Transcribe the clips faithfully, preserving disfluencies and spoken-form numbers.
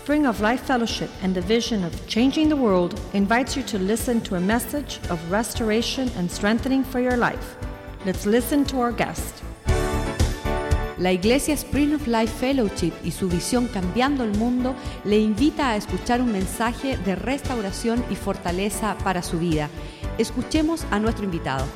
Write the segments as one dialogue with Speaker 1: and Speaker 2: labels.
Speaker 1: Spring of Life Fellowship and the vision of changing the world invites you to listen to a message of restoration and strengthening for your life. Let's listen to our guest.
Speaker 2: La Iglesia Spring of Life Fellowship y su visión Cambiando el Mundo le invita a escuchar un mensaje de restauración y fortaleza para su vida. Escuchemos a nuestro invitado.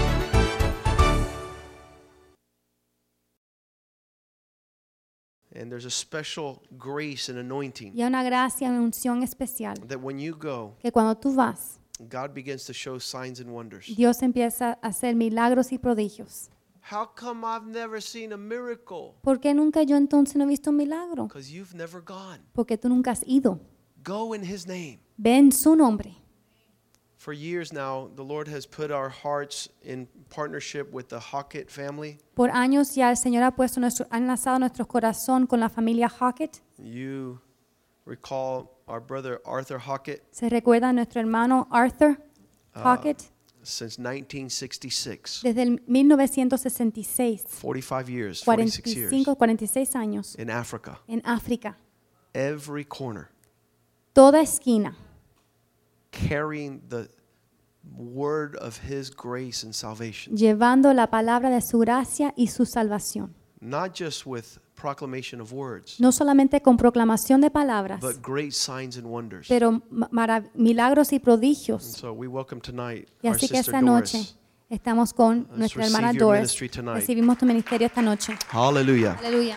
Speaker 3: And there's a special grace and anointing
Speaker 4: Y hay una gracia y una unción especial
Speaker 3: that when you go,
Speaker 4: que cuando tú vas,
Speaker 3: God begins to show signs and wonders.
Speaker 4: Dios empieza a hacer milagros y prodigios.
Speaker 3: How come I've never seen a miracle?
Speaker 4: ¿Por qué nunca yo entonces no he visto un milagro?
Speaker 3: Because you've never gone.
Speaker 4: Porque tú nunca has ido.
Speaker 3: Go in His name.
Speaker 4: Ve en su nombre.
Speaker 3: For years now, the Lord has put our hearts in partnership with the Hockett family.
Speaker 4: Por años ya el Señor ha puesto nuestro, ha enlazado nuestro corazón con la familia Hockett.
Speaker 3: You recall our brother Arthur Hockett.
Speaker 4: Se recuerda a nuestro hermano Arthur Hockett.
Speaker 3: Uh, since nineteen sixty-six.
Speaker 4: Desde el mil novecientos sesenta y seis.
Speaker 3: forty-five years, forty-six years.
Speaker 4: cuarenta y cinco, cuarenta y seis años.
Speaker 3: In Africa.
Speaker 4: En África.
Speaker 3: Every corner.
Speaker 4: Toda esquina.
Speaker 3: Carrying the word of His grace and salvation.
Speaker 4: Llevando la palabra de su gracia y su salvación.
Speaker 3: Not just with proclamation of words,
Speaker 4: No solamente con proclamación de palabras,
Speaker 3: but great signs and wonders.
Speaker 4: pero marav- milagros y
Speaker 3: And
Speaker 4: prodigios.
Speaker 3: so we welcome tonight
Speaker 4: Y
Speaker 3: our
Speaker 4: así que
Speaker 3: sister
Speaker 4: esta noche
Speaker 3: Doris.
Speaker 4: estamos con
Speaker 3: Let's
Speaker 4: nuestra
Speaker 3: receive
Speaker 4: hermana
Speaker 3: your
Speaker 4: Doris.
Speaker 3: ministry tonight.
Speaker 4: Recibimos tu ministerio esta noche.
Speaker 3: Hallelujah.
Speaker 4: Aleluya.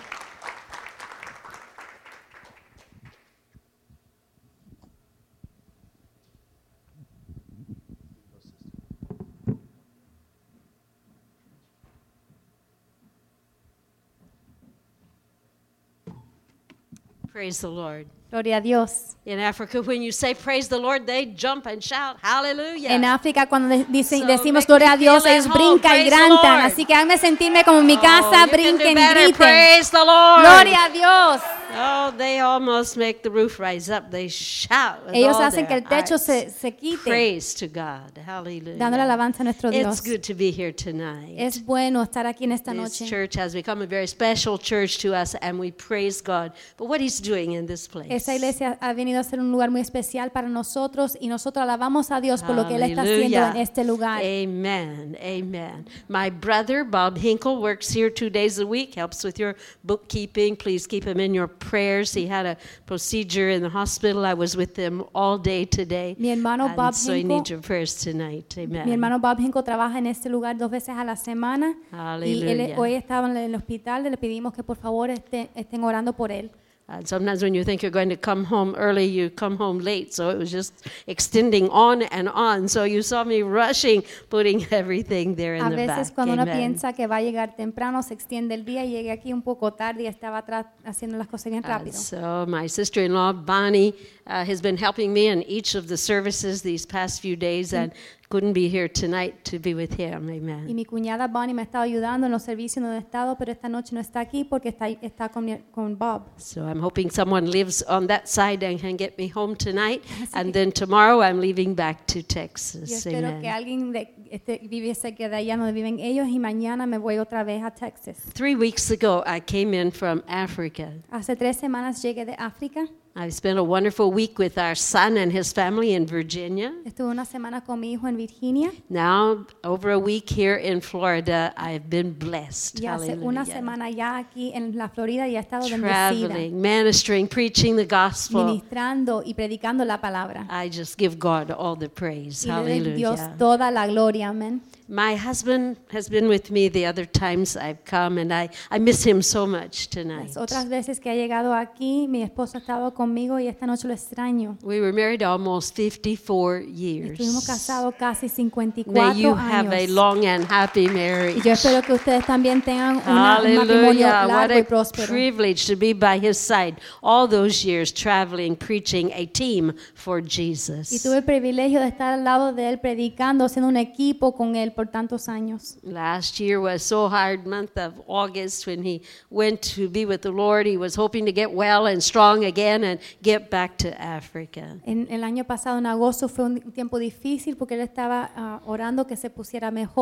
Speaker 5: Praise the Lord.
Speaker 4: Gloria a Dios.
Speaker 5: In Africa, when you say praise the Lord, they jump and shout, hallelujah.
Speaker 4: En África, cuando de- dicen,
Speaker 5: So
Speaker 4: decimos
Speaker 5: make
Speaker 4: gloria
Speaker 5: me
Speaker 4: a Dios,
Speaker 5: feel
Speaker 4: ellos
Speaker 5: at home.
Speaker 4: brincan y
Speaker 5: Praise the
Speaker 4: gritan.
Speaker 5: Lord.
Speaker 4: Así que háganme sentirme como en mi
Speaker 5: Oh,
Speaker 4: casa,
Speaker 5: you can do
Speaker 4: brinquen,
Speaker 5: better.
Speaker 4: griten.
Speaker 5: Praise the Lord.
Speaker 4: Gloria a Dios.
Speaker 5: Oh, they almost make the roof rise up. They shout with
Speaker 4: Ellos
Speaker 5: all
Speaker 4: hacen que
Speaker 5: their
Speaker 4: el techo
Speaker 5: hearts.
Speaker 4: se, se quite,
Speaker 5: Praise to God. Hallelujah.
Speaker 4: dándole alabanza a nuestro
Speaker 5: It's
Speaker 4: Dios.
Speaker 5: good to be here tonight.
Speaker 4: Es bueno estar aquí en esta
Speaker 5: This
Speaker 4: noche.
Speaker 5: church has become a very special church to us, and we praise God for what He's doing in this place.
Speaker 4: Esta iglesia ha venido a ser un lugar muy especial para nosotros y nosotros alabamos a Dios por lo que Él está haciendo
Speaker 5: Hallelujah.
Speaker 4: en este lugar.
Speaker 5: Amen. Amen. My brother, Bob Hinkle, works here two days a week, helps with your bookkeeping. Please keep him in your prayers. He had a procedure in the hospital. I was with them all day today.
Speaker 4: Mi hermano
Speaker 5: And
Speaker 4: Bob
Speaker 5: so I
Speaker 4: Hinkle-
Speaker 5: need your prayers tonight. Amen.
Speaker 4: Mi hermano Bob Hinkle trabaja en este lugar dos veces a la semana y él
Speaker 5: Hallelujah.
Speaker 4: hoy estaba en el hospital. Le pedimos que por favor esté- estén orando por él.
Speaker 5: And sometimes when you think you're going to come home early, you come home late. So it was just extending on and on. So you saw me rushing, putting everything there in
Speaker 4: A
Speaker 5: the
Speaker 4: veces
Speaker 5: back.
Speaker 4: cuando uno
Speaker 5: Amen.
Speaker 4: piensa que va a llegar temprano, se extiende el día y llegué aquí un poco tarde y estaba atrás haciendo las cosas bien
Speaker 5: Uh,
Speaker 4: rápido.
Speaker 5: so my sister-in-law Bonnie uh, has been helping me in each of the services these past few days, and couldn't be here tonight to be with him.
Speaker 4: Y
Speaker 5: Amen.
Speaker 4: mi cuñada Bonnie me ha estado ayudando en los servicios donde he estado, pero esta noche no está aquí porque está, está con, mi- con Bob.
Speaker 5: So I'm hoping someone lives on that side and can get me home tonight, and then tomorrow I'm leaving back to
Speaker 4: Yo
Speaker 5: Texas.
Speaker 4: espero que
Speaker 5: Amen.
Speaker 4: alguien de, este, vive cerca de allá donde viven ellos y mañana me voy otra vez a Texas.
Speaker 5: Three weeks ago, I came in from Africa.
Speaker 4: Hace tres semanas llegué de África.
Speaker 5: I spent a wonderful week with our son and his family in Virginia.
Speaker 4: Estuve una semana con mi hijo en Virginia
Speaker 5: Now, over a week here in Florida, I've been blessed.
Speaker 4: y hace una
Speaker 5: Hallelujah.
Speaker 4: semana ya aquí en la Florida y he estado bendecida,
Speaker 5: Traveling, ministering, preaching the gospel.
Speaker 4: ministrando y predicando la palabra.
Speaker 5: I just give God all the praise.
Speaker 4: Y le doy a Dios
Speaker 5: Hallelujah.
Speaker 4: toda la gloria, amén.
Speaker 5: My husband has been with me the other times I've come, and I, I miss him so much tonight.
Speaker 4: Las otras veces que ha llegado aquí, mi esposo ha estado conmigo y esta noche lo extraño.
Speaker 5: We were married almost fifty-four
Speaker 4: Y
Speaker 5: years.
Speaker 4: estuvimos casados casi cincuenta y
Speaker 5: May
Speaker 4: cuatro
Speaker 5: you have a
Speaker 4: años.
Speaker 5: long and happy
Speaker 4: Y
Speaker 5: marriage.
Speaker 4: yo espero que ustedes también tengan una- un matrimonio
Speaker 5: Hallelujah. What
Speaker 4: largo y
Speaker 5: a
Speaker 4: próspero.
Speaker 5: privilege to be by his side all those years traveling, preaching a team for
Speaker 4: Y
Speaker 5: Jesus.
Speaker 4: tuve el privilegio de estar al lado de él predicando, haciendo un equipo con él por tantos años.
Speaker 5: Last year was so hard, month of August, when he went to be with the Lord. He was hoping to get well and strong again and get back to Africa.
Speaker 4: En el año pasado, en agosto, fue un tiempo difícil porque él estaba ah, orando que se pusiera mejor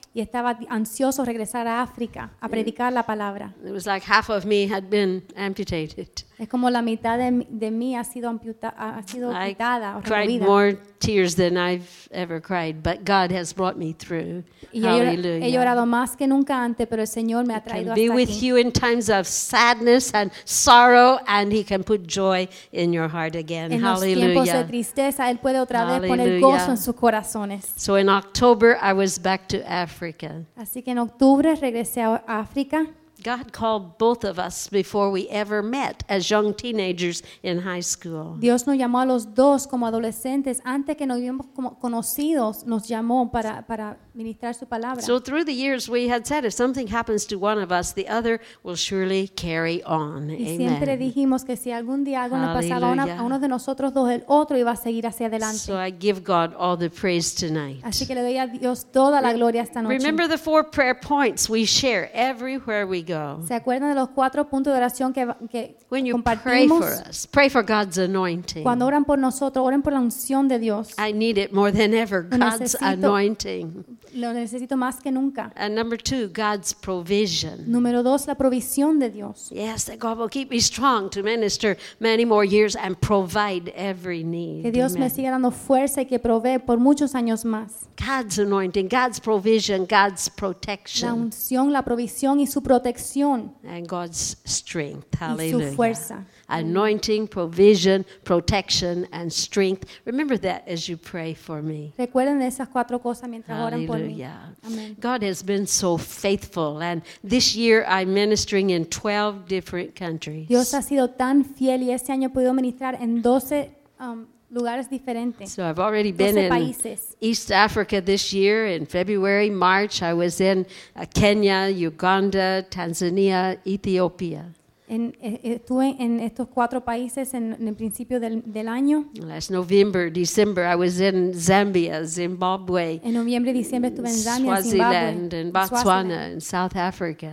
Speaker 4: y estaba ansioso regresar a África a predicar la palabra.
Speaker 5: It was like half of me had been amputated.
Speaker 4: Es como la mitad de, mi- de mí ha sido, amputa- ha sido
Speaker 5: I
Speaker 4: quitada o
Speaker 5: cried
Speaker 4: removida.
Speaker 5: more tears than I've ever cried, but God has brought me through.
Speaker 4: Y he, llora- he
Speaker 5: Hallelujah.
Speaker 4: llorado más que nunca antes, pero el Señor me ha traído
Speaker 5: Can be
Speaker 4: hasta
Speaker 5: with
Speaker 4: aquí.
Speaker 5: you in times of sadness and sorrow, and He can put joy in your heart again.
Speaker 4: En los tiempos de
Speaker 5: Hallelujah.
Speaker 4: tristeza, Él puede otra vez poner
Speaker 5: Hallelujah.
Speaker 4: gozo en sus corazones.
Speaker 5: So in October, I was back to Africa.
Speaker 4: Así que en octubre regresé a África.
Speaker 5: God called both of us before we ever met as young teenagers in high school.
Speaker 4: Dios nos llamó a los dos como adolescentes. Antes que nos hubiéramos como conocidos, nos llamó para, para ministrar su palabra.
Speaker 5: So through the years, we had said if something happens to one of us, the other will surely carry on.
Speaker 4: Y siempre
Speaker 5: Amen.
Speaker 4: dijimos que si algún día algo le pasaba a, una-
Speaker 5: Hallelujah.
Speaker 4: a uno de nosotros dos, el otro iba a seguir hacia adelante.
Speaker 5: So I give God all the praise tonight.
Speaker 4: Así que le doy a Dios toda la gloria esta noche.
Speaker 5: Remember the four prayer points we share everywhere we go.
Speaker 4: ¿Se acuerdan de los cuatro puntos de oración que, que
Speaker 5: When you pray
Speaker 4: compartimos?
Speaker 5: for us, pray for God's anointing.
Speaker 4: Cuando oran por nosotros, oren por la unción de Dios.
Speaker 5: I need it more than ever,
Speaker 4: Lo
Speaker 5: God's
Speaker 4: necesito.
Speaker 5: anointing.
Speaker 4: Lo necesito más que nunca.
Speaker 5: And number two, God's provision.
Speaker 4: Número dos, la provisión de Dios.
Speaker 5: Yes, that God will keep me strong to minister many more years and provide every need.
Speaker 4: Que Dios me
Speaker 5: Amen.
Speaker 4: siga dando fuerza y que provee por muchos años más.
Speaker 5: God's anointing, God's provision, God's
Speaker 4: La
Speaker 5: protection,
Speaker 4: unción, la provisión y su protección
Speaker 5: and God's strength.
Speaker 4: y su
Speaker 5: Hallelujah.
Speaker 4: fuerza.
Speaker 5: Anointing, provision, protection, and strength. Remember that as you pray for me.
Speaker 4: Recuerden de esas cuatro cosas mientras oran por mí.
Speaker 5: Hallelujah.
Speaker 4: Amén.
Speaker 5: God has been so faithful, and this year I'm ministering in twelve different countries.
Speaker 4: Dios ha sido tan fiel y este año he podido ministrar en doce um, lugares diferentes.
Speaker 5: So I've already been
Speaker 4: doce
Speaker 5: in
Speaker 4: países.
Speaker 5: East Africa this year. In February, March, I was in uh, Kenya, Uganda, Tanzania, Ethiopia.
Speaker 4: En- eh, estuve en estos cuatro países en, en el principio del, del año.
Speaker 5: Last November, December, I was in Zambia, Zimbabwe,
Speaker 4: En noviembre y diciembre estuve en Zambia, en
Speaker 5: Swaziland,
Speaker 4: Zimbabue,
Speaker 5: and
Speaker 4: en
Speaker 5: Botswana,
Speaker 4: Swaziland.
Speaker 5: and South Africa.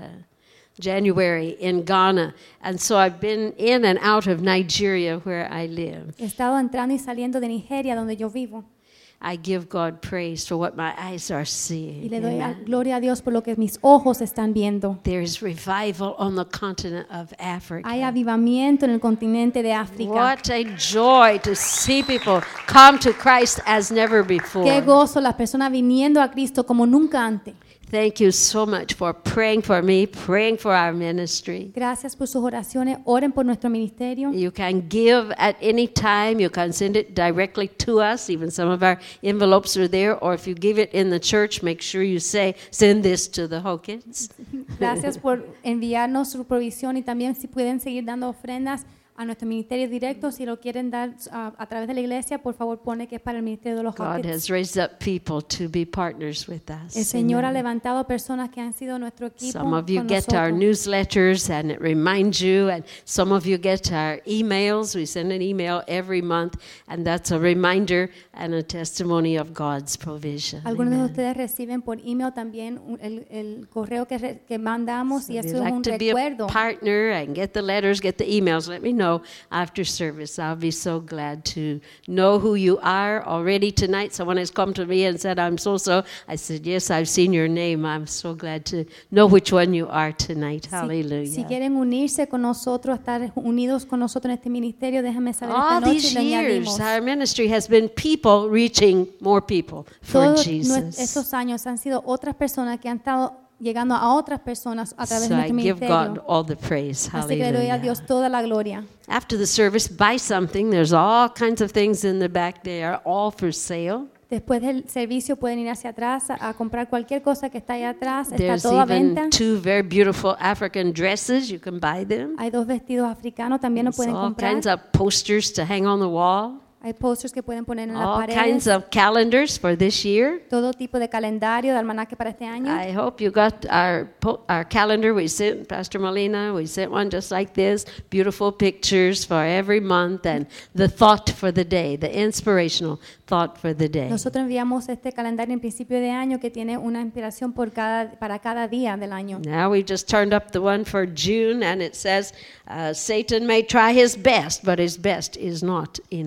Speaker 5: January in Ghana. And so I've been in and out of Nigeria where I live.
Speaker 4: He estado entrando y saliendo de Nigeria, donde yo vivo.
Speaker 5: I give God praise for what my eyes are
Speaker 4: Y
Speaker 5: seeing.
Speaker 4: le doy a-
Speaker 5: Amen.
Speaker 4: gloria a Dios por lo que mis ojos están viendo.
Speaker 5: There is revival on the continent of Africa.
Speaker 4: Hay avivamiento en el continente de África.
Speaker 5: What a joy to see people come to Christ as never
Speaker 4: Qué
Speaker 5: before.
Speaker 4: gozo las personas viniendo a Cristo como nunca antes.
Speaker 5: Thank you so much for praying for me, praying for our ministry.
Speaker 4: Gracias por sus oraciones. Oren por nuestro ministerio.
Speaker 5: You can give at any time. You can send it directly to us. Even some of our envelopes are there. Or if you give it in the church, make sure you say, send this to the Hawkins.
Speaker 4: Gracias por enviarnos su provisión y también si pueden seguir dando ofrendas a nuestro ministerio directo. Si lo quieren dar uh, a través de la iglesia, por favor pone que es para el ministerio de los
Speaker 5: God
Speaker 4: Hawkins.
Speaker 5: has raised up people to be partners with us.
Speaker 4: El Señor ha
Speaker 5: Amen.
Speaker 4: levantado personas que han sido nuestro equipo
Speaker 5: Some of you
Speaker 4: con
Speaker 5: get our
Speaker 4: nosotros.
Speaker 5: newsletters and it reminds you, and some of you get our emails. We send an email every month, and that's a reminder and a testimony of God's provision.
Speaker 4: Algunos de
Speaker 5: Amen.
Speaker 4: ustedes reciben por email también un- el, el correo que, re- que mandamos y
Speaker 5: If
Speaker 4: eso
Speaker 5: you'd
Speaker 4: es
Speaker 5: like
Speaker 4: un
Speaker 5: to be a
Speaker 4: recuerdo.
Speaker 5: partner and get the letters, get the emails, let me know after service. I'll be so glad to know who you are. Already tonight, someone has come to me and said, I'm so-so. I said, yes, I've seen your name. I'm so glad to know which one you are tonight.
Speaker 4: Si,
Speaker 5: Hallelujah.
Speaker 4: si quieren unirse con nosotros, estar unidos con nosotros en este ministerio, déjenme saber esta
Speaker 5: All
Speaker 4: noche y
Speaker 5: these
Speaker 4: le
Speaker 5: years,
Speaker 4: añadimos.
Speaker 5: our ministry has been people reaching more people for
Speaker 4: Todos
Speaker 5: Jesus.
Speaker 4: nues- estos años han sido otras personas que han estado llegando a otras personas a través
Speaker 5: So
Speaker 4: de
Speaker 5: I
Speaker 4: nuestro
Speaker 5: give God
Speaker 4: ministerio.
Speaker 5: all the praise.
Speaker 4: Así que le doy a
Speaker 5: Hallelujah.
Speaker 4: Dios toda la gloria.
Speaker 5: After the service, buy something. There's all kinds of things in the back. They are all for sale.
Speaker 4: Después del servicio pueden ir hacia atrás a, a comprar cualquier cosa que está ahí atrás. Está
Speaker 5: There's
Speaker 4: todo a venta.
Speaker 5: even two very beautiful African dresses. You can buy them.
Speaker 4: Hay dos vestidos africanos, también lo
Speaker 5: There's
Speaker 4: pueden
Speaker 5: all
Speaker 4: comprar.
Speaker 5: kinds of posters to hang on the wall.
Speaker 4: Hay posters que pueden poner en las
Speaker 5: All kinds
Speaker 4: paredes.
Speaker 5: of calendars for this year.
Speaker 4: Todo tipo de calendario, de almanaque para este año.
Speaker 5: I hope you got our po- our calendar. We sent Pastor Molina. We sent one just like this. Beautiful pictures for every month and the thought for the day, the inspirational thought for the day.
Speaker 4: Nosotros enviamos este calendario en principio de año que tiene una inspiración por cada, para cada día del año.
Speaker 5: Now we just turned up the one for June, and it says, uh, Satan may try his best, but his best is not enough.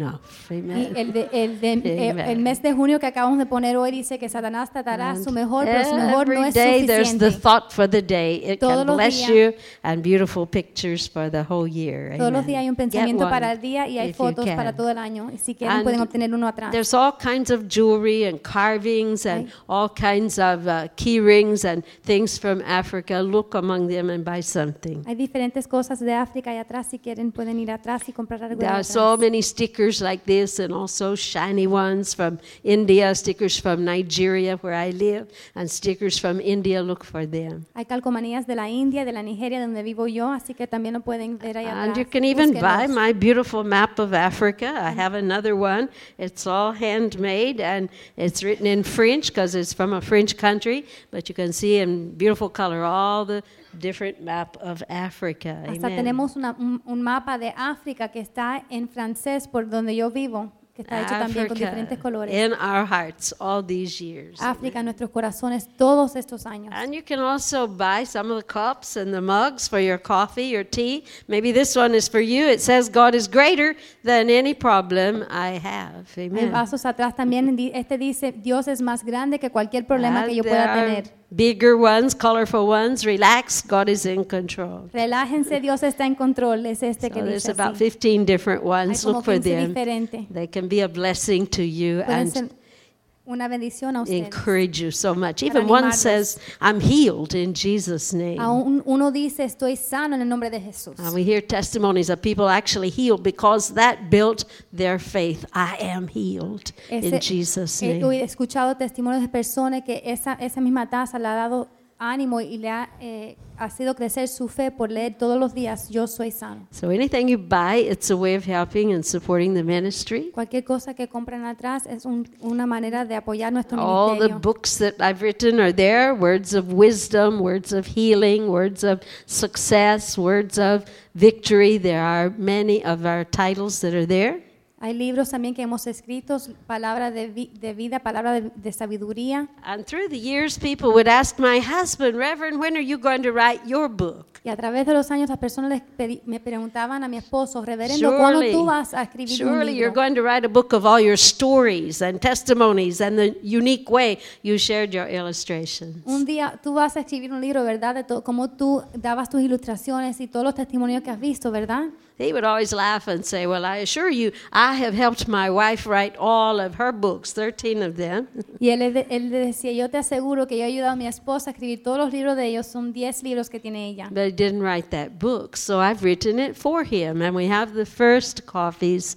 Speaker 4: Y
Speaker 5: Amen.
Speaker 4: el, de- el, de- eh,
Speaker 5: Amen.
Speaker 4: el mes de junio que acabamos de poner hoy dice que Satanás tratará
Speaker 5: And
Speaker 4: su mejor, pero su mejor no
Speaker 5: every
Speaker 4: es
Speaker 5: day there's the
Speaker 4: suficiente.
Speaker 5: thought for the day. It
Speaker 4: Todos
Speaker 5: can
Speaker 4: los
Speaker 5: bless
Speaker 4: días-
Speaker 5: you and beautiful pictures for the whole year.
Speaker 4: Todos los
Speaker 5: Amen.
Speaker 4: días hay un
Speaker 5: Get
Speaker 4: pensamiento
Speaker 5: one
Speaker 4: para el día y hay
Speaker 5: if you
Speaker 4: fotos
Speaker 5: can.
Speaker 4: para todo el año. Y si quieren
Speaker 5: And
Speaker 4: pueden obtener uno atrás.
Speaker 5: There's all kinds of jewelry and carvings and
Speaker 4: Ay.
Speaker 5: all kinds of uh, key rings and things from Africa. Look among them and buy something.
Speaker 4: Hay diferentes cosas de África y atrás. Si quieren pueden ir atrás y comprar algo de
Speaker 5: There are
Speaker 4: atrás.
Speaker 5: so many stickers like this and also shiny ones from India, stickers from Nigeria where I live, and stickers from India. Look for them.
Speaker 4: Hay calcomanías de la India, de la Nigeria, donde vivo yo, así que también lo pueden ver ahí atrás.
Speaker 5: And you can even buy
Speaker 4: Búsquenlos.
Speaker 5: my beautiful map of Africa. I have another one. It's all handmade and it's written in French because it's from a French country, but you can see in beautiful color all the different map of Africa.
Speaker 4: Hasta
Speaker 5: Amen.
Speaker 4: tenemos una- un, un mapa de África que está en francés por donde yo vivo, que está hecho también con diferentes colores.
Speaker 5: in our hearts all these years.
Speaker 4: África en nuestros corazones todos estos años.
Speaker 5: And you can also buy some of the cups and the mugs for your coffee, your tea. Maybe this one is for you. It says, God is greater than any problem I have.
Speaker 4: Hay
Speaker 5: Amen.
Speaker 4: vasos atrás también. di- Este dice, Dios es más grande que cualquier problema que
Speaker 5: And
Speaker 4: yo
Speaker 5: there
Speaker 4: pueda
Speaker 5: are
Speaker 4: tener.
Speaker 5: bigger ones, colorful ones. Relax, God is in control.
Speaker 4: Relájense, Dios está en control. Es este
Speaker 5: So
Speaker 4: que
Speaker 5: there's
Speaker 4: dice
Speaker 5: about
Speaker 4: así.
Speaker 5: fifteen different
Speaker 4: Hay
Speaker 5: ones.
Speaker 4: como
Speaker 5: Look for
Speaker 4: quince
Speaker 5: them.
Speaker 4: diferentes.
Speaker 5: They can be a blessing to you
Speaker 4: Pueden
Speaker 5: and
Speaker 4: ser una bendición a ustedes.
Speaker 5: encourage you so much.
Speaker 4: Para
Speaker 5: Even one
Speaker 4: animarlos.
Speaker 5: says, I'm healed in Jesus' name.
Speaker 4: Aún uno dice, estoy sano en el nombre de Jesús.
Speaker 5: And we hear testimonies of people actually healed because that built their faith. I am healed in
Speaker 4: Ese-
Speaker 5: Jesus'
Speaker 4: He
Speaker 5: name.
Speaker 4: he escuchado testimonios de personas que esa, esa misma taza le ha dado ánimo y le ha, eh, ha sido crecer su fe por leer todos los días, yo soy sano.
Speaker 5: So anything you buy, it's a way of helping and supporting the ministry.
Speaker 4: Cualquier cosa que compren atrás es un- una manera de apoyar nuestro
Speaker 5: All the
Speaker 4: ministerio.
Speaker 5: books that I've written are there, words of wisdom, words of healing, words of success, words of victory. There are many of our titles that are there.
Speaker 4: Hay libros también que hemos escrito, palabra de, vi- de vida, palabra de, de sabiduría.
Speaker 5: And through the years, people would ask my husband, Reverend, when are you going to write your book?
Speaker 4: Y a través de los años las personas les pedi- me preguntaban a mi esposo, reverendo, ¿cuándo
Speaker 5: Surely,
Speaker 4: tú vas a escribir un
Speaker 5: surely you're
Speaker 4: libro?
Speaker 5: going to write a book of all your stories and testimonies and the unique way you shared your illustrations.
Speaker 4: Un día tú vas a escribir un libro, ¿verdad? De todo, cómo tú dabas tus ilustraciones y todos los testimonios que has visto, ¿verdad?
Speaker 5: He would always laugh and say, well, I assure you, I have helped my wife write all of her books, thirteen of them.
Speaker 4: Y él, le- él le decía, yo te aseguro que yo he ayudado a mi esposa a escribir todos los libros de ellos, son diez libros que tiene ella.
Speaker 5: But he didn't write that book, so I've written it for him. And we have the first copies.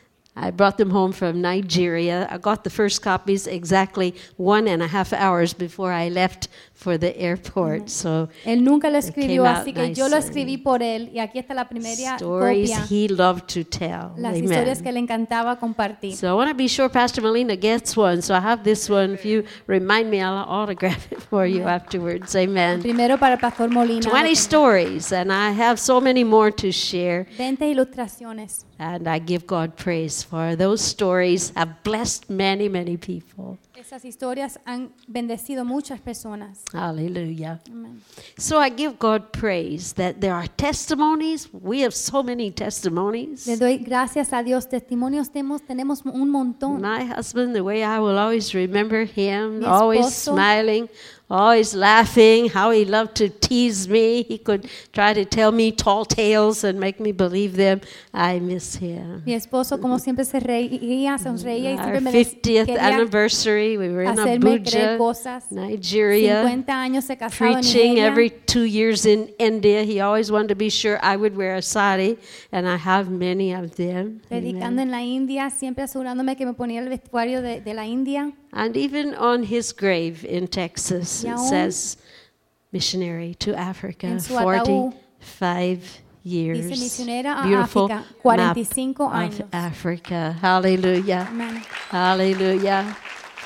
Speaker 5: I brought them home from Nigeria. I got the first copies exactly one and a half hours before I left for the airport. So
Speaker 4: Él nunca lo
Speaker 5: It
Speaker 4: escribió,
Speaker 5: came out
Speaker 4: así que yo lo
Speaker 5: nice
Speaker 4: escribí por él. Y aquí está la primera
Speaker 5: stories
Speaker 4: copia,
Speaker 5: he loved to tell.
Speaker 4: las
Speaker 5: Amen.
Speaker 4: historias que le encantaba compartir.
Speaker 5: So I want to be sure Pastor Melina gets one. So I have this one. If you remind me, I'll autograph it for you afterwards. Amen.
Speaker 4: Primero para el pastor Molina.
Speaker 5: twenty stories, and I have so many more to share.
Speaker 4: veinte ilustraciones.
Speaker 5: And I give God praise for those stories have blessed many, many people.
Speaker 4: Esas historias han bendecido muchas personas.
Speaker 5: Hallelujah.
Speaker 4: Amén.
Speaker 5: So I give God praise that there are testimonies. We have so many testimonies.
Speaker 4: Le doy gracias a Dios. Testimonios tenemos, tenemos un montón.
Speaker 5: My husband, the way I will always remember him,
Speaker 4: Mi
Speaker 5: always
Speaker 4: esposo.
Speaker 5: smiling, always laughing, how he loved to tease me. He could try to tell me tall tales and make me believe them. I miss him.
Speaker 4: Mi esposo, como siempre, se reía, sonreía y
Speaker 5: Our
Speaker 4: siempre me dec-
Speaker 5: fiftieth
Speaker 4: quería
Speaker 5: anniversary, we were in
Speaker 4: hacerme creer
Speaker 5: Abuja,
Speaker 4: cosas.
Speaker 5: Nigeria,
Speaker 4: cincuenta años se casado en
Speaker 5: preaching
Speaker 4: Nigeria.
Speaker 5: every two years in India. He always wanted to be sure I would wear a sari, and I have many of them.
Speaker 4: Predicando
Speaker 5: Amen.
Speaker 4: en la India, siempre asegurándome que me ponía el vestuario de, de la India.
Speaker 5: And even on his grave in Texas,
Speaker 4: Y
Speaker 5: it
Speaker 4: aún
Speaker 5: says missionary to Africa,
Speaker 4: en su ataúd
Speaker 5: forty-five years.
Speaker 4: dice misionera a
Speaker 5: Beautiful
Speaker 4: África, cuarenta y
Speaker 5: map
Speaker 4: cinco
Speaker 5: of
Speaker 4: años.
Speaker 5: Africa. Hallelujah.
Speaker 4: Amén.
Speaker 5: Hallelujah.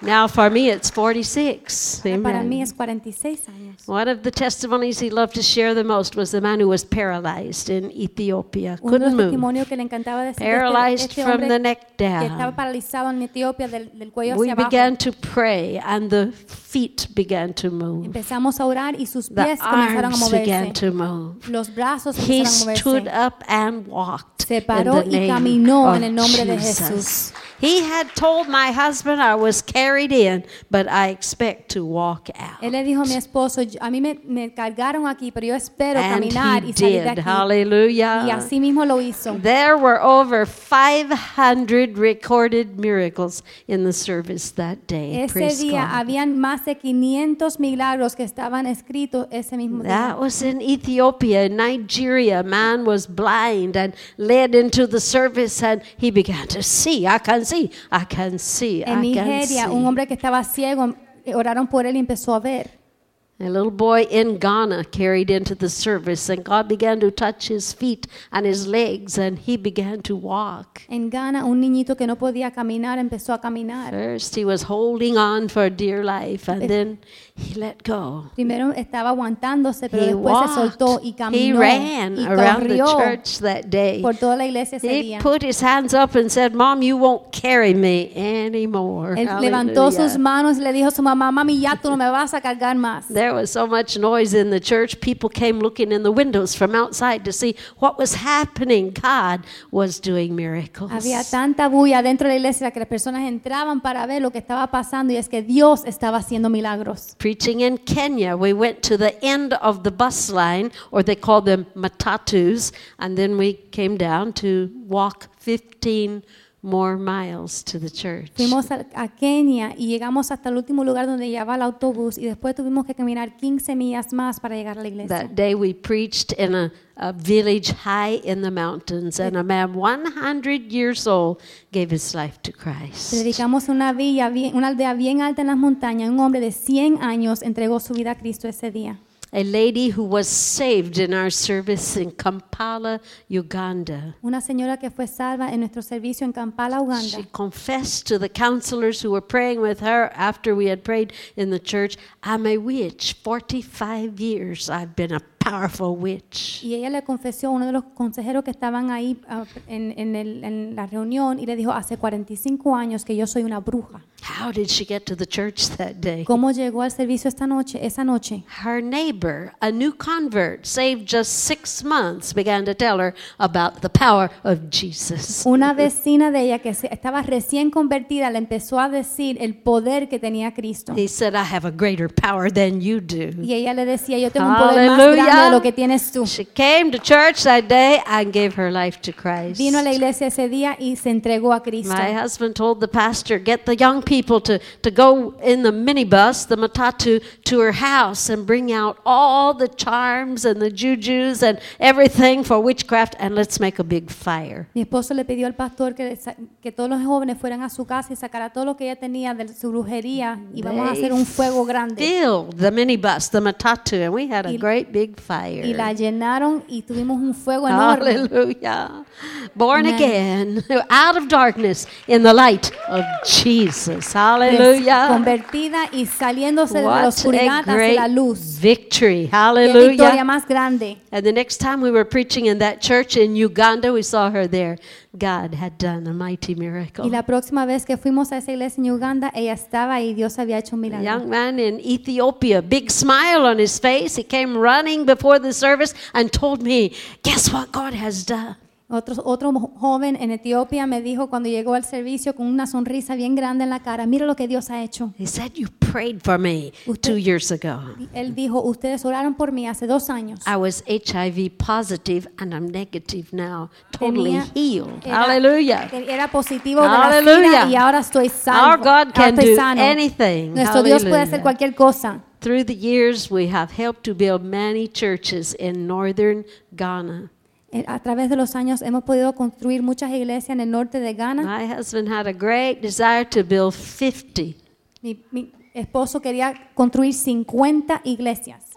Speaker 5: Now for me it's forty-six.
Speaker 4: Para mí
Speaker 5: Amen.
Speaker 4: es cuarenta y seis años.
Speaker 5: One of the testimonies he loved to share the most was the man who was paralyzed in Ethiopia.
Speaker 4: Uno de
Speaker 5: Couldn't
Speaker 4: los
Speaker 5: move.
Speaker 4: testimonios que le encantaba decir de
Speaker 5: Paralyzed
Speaker 4: este, este
Speaker 5: from
Speaker 4: hombre
Speaker 5: the neck
Speaker 4: que estaba
Speaker 5: down.
Speaker 4: paralizado en Etiopía del, del cuello
Speaker 5: We
Speaker 4: hacia abajo.
Speaker 5: began to pray and the feet began to move.
Speaker 4: Empezamos a orar y sus
Speaker 5: The
Speaker 4: pies comenzaron a
Speaker 5: arms began
Speaker 4: moverse.
Speaker 5: to move.
Speaker 4: Los brazos
Speaker 5: He
Speaker 4: empezaron a
Speaker 5: stood
Speaker 4: moverse.
Speaker 5: up and walked
Speaker 4: Se
Speaker 5: in
Speaker 4: paró
Speaker 5: the
Speaker 4: y
Speaker 5: name
Speaker 4: caminó
Speaker 5: of
Speaker 4: en el nombre de
Speaker 5: Jesus.
Speaker 4: Jesús.
Speaker 5: He had told my husband I was carried in, but I expect to walk out.
Speaker 4: Él le dijo a mi esposo, "Yo- a mí me, me cargaron aquí, pero yo espero
Speaker 5: And
Speaker 4: caminar
Speaker 5: he
Speaker 4: y salir de
Speaker 5: did.
Speaker 4: aquí."
Speaker 5: Hallelujah.
Speaker 4: Y así mismo lo hizo.
Speaker 5: There were over five hundred recorded miracles in the service that day.
Speaker 4: Ese
Speaker 5: Praise
Speaker 4: día
Speaker 5: God.
Speaker 4: habían más de quinientos milagros que estaban escritos ese mismo
Speaker 5: That
Speaker 4: día.
Speaker 5: was in Ethiopia. In Nigeria, a man was blind and led into the service and he began to see. I can see. I can see.
Speaker 4: En
Speaker 5: I can
Speaker 4: Nigeria, un
Speaker 5: see.
Speaker 4: hombre que estaba ciego, eh, oraron por él y empezó a ver.
Speaker 5: A little boy in Ghana carried into the service, and God began to touch his feet and his legs, and he began to walk.
Speaker 4: En Ghana, un niñito que no podía caminar empezó a caminar.
Speaker 5: First, he was holding on for dear life, and then he let go.
Speaker 4: Primero estaba aguantándose, pero
Speaker 5: He
Speaker 4: después se soltó y
Speaker 5: walked. He
Speaker 4: caminó
Speaker 5: ran
Speaker 4: y
Speaker 5: around the
Speaker 4: corrió
Speaker 5: church that day.
Speaker 4: por toda la iglesia ese
Speaker 5: He
Speaker 4: día.
Speaker 5: put his hands up and said, "Mom, you won't carry me anymore."
Speaker 4: Él levantó sus
Speaker 5: Hallelujah.
Speaker 4: manos y le dijo a su mamá, "Mami, ya tú no me vas a cargar más."
Speaker 5: There was so much noise in the church. People came looking in the windows from outside to see what was happening. God was doing miracles.
Speaker 4: Había tanta bulla dentro de la iglesia que las personas entraban para ver lo que estaba pasando y es que Dios estaba haciendo milagros.
Speaker 5: Preaching in Kenya, we went to the end of the bus line, or they call them matatus, and then we came down to walk fifteen more miles to the church.
Speaker 4: Fuimos a, a Kenia y llegamos hasta el último lugar donde llevaba el autobús y después tuvimos que caminar quince millas más para llegar a la iglesia.
Speaker 5: That day we preached in a, a village high in the mountains, and a man one hundred years old gave his life to Christ.
Speaker 4: Predicamos en una villa, bien- una aldea bien alta en las montañas. Un hombre de cien años entregó su vida a Cristo ese día.
Speaker 5: A lady who was saved in our service in Kampala, Uganda.
Speaker 4: Una señora que fue salva en nuestro servicio en Kampala, Uganda.
Speaker 5: She confessed to the counselors who were praying with her after we had prayed in the church, "I'm a witch. forty-five years I've been a powerful witch."
Speaker 4: Y ella le confesó a uno de los consejeros que estaban ahí ah, en, en el- en la reunión y le dijo, hace cuarenta y cinco años que yo soy una bruja.
Speaker 5: How did she get to the church that day?
Speaker 4: ¿Cómo llegó al servicio esta noche, esa noche?
Speaker 5: Her neighbor, a new convert, saved just six months, began to tell her about the power of Jesus.
Speaker 4: Una vecina de ella que se- estaba recién convertida le empezó a decir el poder que tenía Cristo.
Speaker 5: He said, "I have a greater power than you do."
Speaker 4: Y ella le decía, yo tengo un poder más
Speaker 5: Hallelujah.
Speaker 4: grande de lo que tienes tú.
Speaker 5: She came to church that day and gave her life to Christ.
Speaker 4: Vino a la iglesia ese día y se entregó a Cristo.
Speaker 5: My husband told the pastor, "Get the young people to, to go in the minibus, the matatu, to her house and bring out all the charms and the jujus and everything for witchcraft, and let's make a big fire."
Speaker 4: Mi esposo le pidió al pastor que, sa- que todos los jóvenes fueran a su casa y sacara todo lo que ella tenía de su brujería y vamos a
Speaker 5: They
Speaker 4: hacer un fuego grande.
Speaker 5: Filled the minibus, the matatu, and we had a
Speaker 4: Y-
Speaker 5: great big fire.
Speaker 4: Y la llenaron y tuvimos un fuego enorme.
Speaker 5: Hallelujah. Born
Speaker 4: Amen.
Speaker 5: again, out of darkness, in the light of Jesus.
Speaker 4: Des-
Speaker 5: Hallelujah.
Speaker 4: Convertida y saliéndose de la
Speaker 5: What
Speaker 4: oscuridad
Speaker 5: a
Speaker 4: hacia
Speaker 5: great
Speaker 4: la luz.
Speaker 5: victory.
Speaker 4: Qué victoria
Speaker 5: Hallelujah.
Speaker 4: más grande.
Speaker 5: And the next time we were preaching in that church in Uganda, we saw her there. God had done a mighty miracle.
Speaker 4: Y la próxima vez que fuimos a esa iglesia en Uganda, ella estaba ahí, Dios había hecho un
Speaker 5: A
Speaker 4: milagro.
Speaker 5: young man in Ethiopia, big smile on his face. He came running before the service and told me, "Guess what God has done?"
Speaker 4: Otro, otro mo- joven en Etiopía me dijo cuando llegó al servicio con una sonrisa bien grande en la cara, mira lo que Dios ha hecho.
Speaker 5: He said, "You prayed for me
Speaker 4: Usted-
Speaker 5: two years ago.
Speaker 4: Y él dijo, ustedes oraron por mí hace dos años.
Speaker 5: I was H I V positive and I'm negative now, totally
Speaker 4: Tenía-
Speaker 5: healed."
Speaker 4: Era-
Speaker 5: Hallelujah.
Speaker 4: que Era positivo de la
Speaker 5: Hallelujah.
Speaker 4: SIDA y ahora estoy salvo.
Speaker 5: Our God can
Speaker 4: Ahora estoy
Speaker 5: do
Speaker 4: sano.
Speaker 5: anything.
Speaker 4: Nuestro Dios puede hacer
Speaker 5: Hallelujah.
Speaker 4: cualquier cosa.
Speaker 5: Through the years, we have helped to build many churches in northern Ghana.
Speaker 4: Eh, A través de los años hemos podido construir muchas iglesias en el norte de Ghana.
Speaker 5: My husband had a great desire to build fifty.
Speaker 4: Mi, mi esposo quería construir cincuenta iglesias.